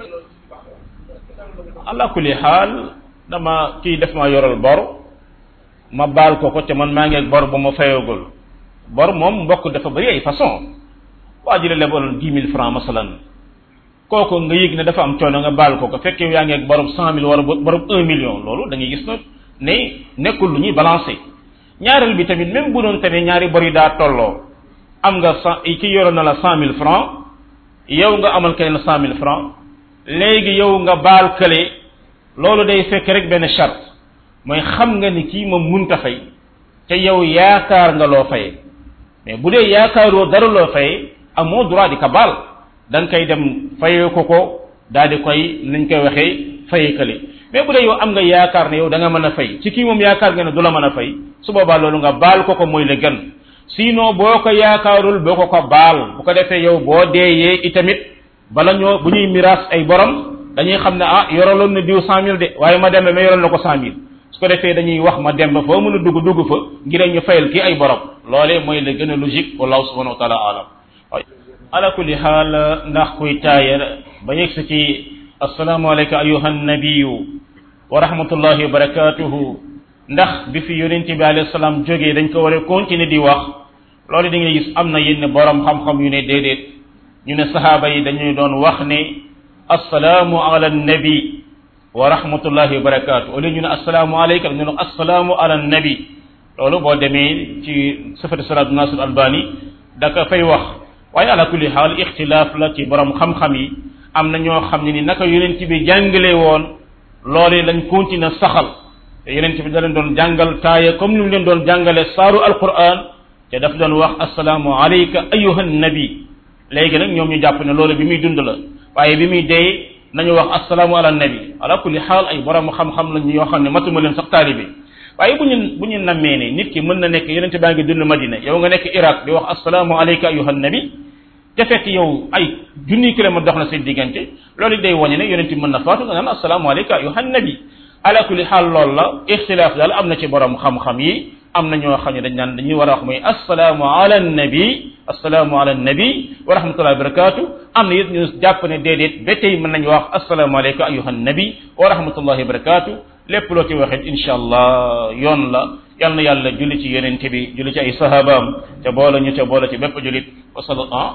ala kulli xaal dama kii def ma yoral bor ma baal ko ko te man maa ngi ak bor bu ma fayagul bor moom mbokk dafa bëri ay façon waa ji la lebaloon dix mille francs masalan kooku nga yëg ne dafa am coono nga baal ko ko fekk yow yaa ngi ak borom cent mille wala borom un million loolu da ngay gis na ne nekkul lu ñuy balancer ñaareel bi tamit même bu doon tamit ñaari bor yi daa tolloo am nga cent ki yoroon na la cent mille francs yow nga amal keneen cent mille francs léegi yow nga baal kële loolu day fekk rek benn charte mooy xam nga ni kii moom munta fay te yow yaakaar nga loo fayee mais bu dee yaakaaroo dara loo fayee amoo droit di ka baal da nga koy dem fayee ko ko daal di koy nañ koy waxee fayee kële mais bu dee yow am nga yaakaar ne yow da nga mën a fay ci kii moom yaakaar nga ne du la mën a fay su boobaa loolu nga baal ko ko mooy la gën sinon boo ko yaakaarul boo ko ko baal bu ko defee yow boo deeyee itamit bala ñoo bu ñuy miraas ay borom dañuy xam ne ah yoraloon na diw cent mille de waaye ma dem ma yoral na ko cent mille su ko defee dañuy wax ma dem ba foo mën a dugg dugg fa ngir ñu fayal kii ay borom loolee mooy la gën a logique wallahu subhanahu wa taala alam ala kulli xaal ndax kuy taayal ba yegg si ci assalaamu alayka ayuha nabiyu wa rahmatullahi wa barakatuhu ndax bi fi yonent bi alayhi salaam jógee dañ ko war a continuer di wax loolu da ngay gis am na yenn borom xam-xam yu ne déedéet ñu ne sahaaba yi dañuy doon wax ne assalaamu ala nabi wa rahmatullahi wa barakatuh au lieu ñu ne assalaamu alayka ñu ne assalaamu ala nabi loolu boo demee ci sifatu salaatu nasir albani da ka fay wax waaye ala kulli xaal ixtilaaf la ci borom xam-xam yi am na ñoo xam ne ni naka yonent bi jàngale woon loolee lañ continuer saxal te yonent bi da leen doon jàngal taaya comme ni mu leen doon jàngale saaru alquran te daf doon wax assalaamu alayka ayuha nabi léegi nag ñoom ñu jàpp ne loolu bi muy dund la waaye bi muy dee nañu wax assalaamu ala nabi ala kulli xaal ay borom xam-xam lañ yoo xam ne matuma leen sax taalibe waaye bu ñu bu ñu nammee ne nit ki mën na nekk yonente baa ngi dund Madina yow nga nekk Iraq di wax assalaamu alayka ayuha nabi te fekk yow ay junni kilomètre dox na seen diggante loolu day wañe ne yonente mën na faatu nga naan assalaamu alayka ayuha nabi ala kulli xaal loolu la ixtilaaf daal am na ci borom xam-xam yi am na ñoo xam ne dañ naan dañuy war a wax mooy assalaamu ala nabi assalaamu ala nabi wa rahmatullahi wa barakatuh am na it ñu jàpp ne déedéet ba tey mën nañu wax assalaamu alayka ayuha nabi wa rahmatullahi wa barakatuh lépp loo ci waxee insha allah yoon la yal na yàlla julli ci yonente bi julli ci ay sahabaam te boole ñu te boole ci bépp jullit wa sala ah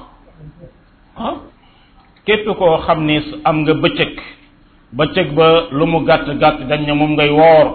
ah képp koo xam ne am nga bëccëg bëccëg ba lu mu gàtt gàtt dañ ne moom ngay woor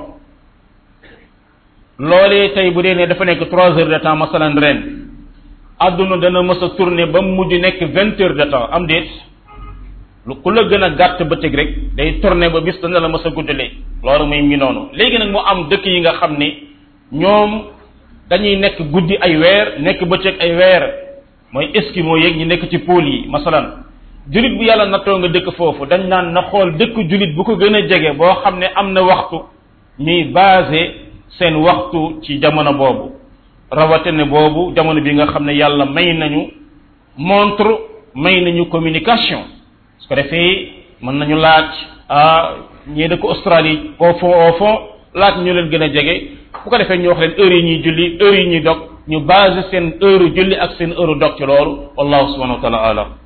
loolee tey bu dee ne dafa nekk trois heures de temps masalan ren adduna dana mës a tourner ba mu mujj nekk vingt heures de temps am déet lu ku la gën a gàtt bëccëg rek day tourner ba bis dana la mës a guddalee loolu mooy mi noonu léegi nag mu am dëkk yi nga xam ne ñoom dañuy nekk guddi ay weer nekk bëccëg ay weer mooy eskimo yeeg ñi nekk ci pôle yi masalan julit bu yàlla nattoo nga dëkk foofu dañ naan na xool dëkk julit bu ko gën a jege boo xam ne am na waxtu ñuy basé seen waxtu ci jamono boobu rawatene boobu jamono bi nga xam ne yàlla may nañu montre may nañu communication su ko defee mën nañu laaj ah ñii dëkk Australie au fond au fond laaj ñu leen gën a jege bu ko defee ñu wax leen heure yi ñuy julli heure yi ñuy dog ñu basé seen heure julli ak seen heure dog ci loolu wallahu subhanahu wa taala alam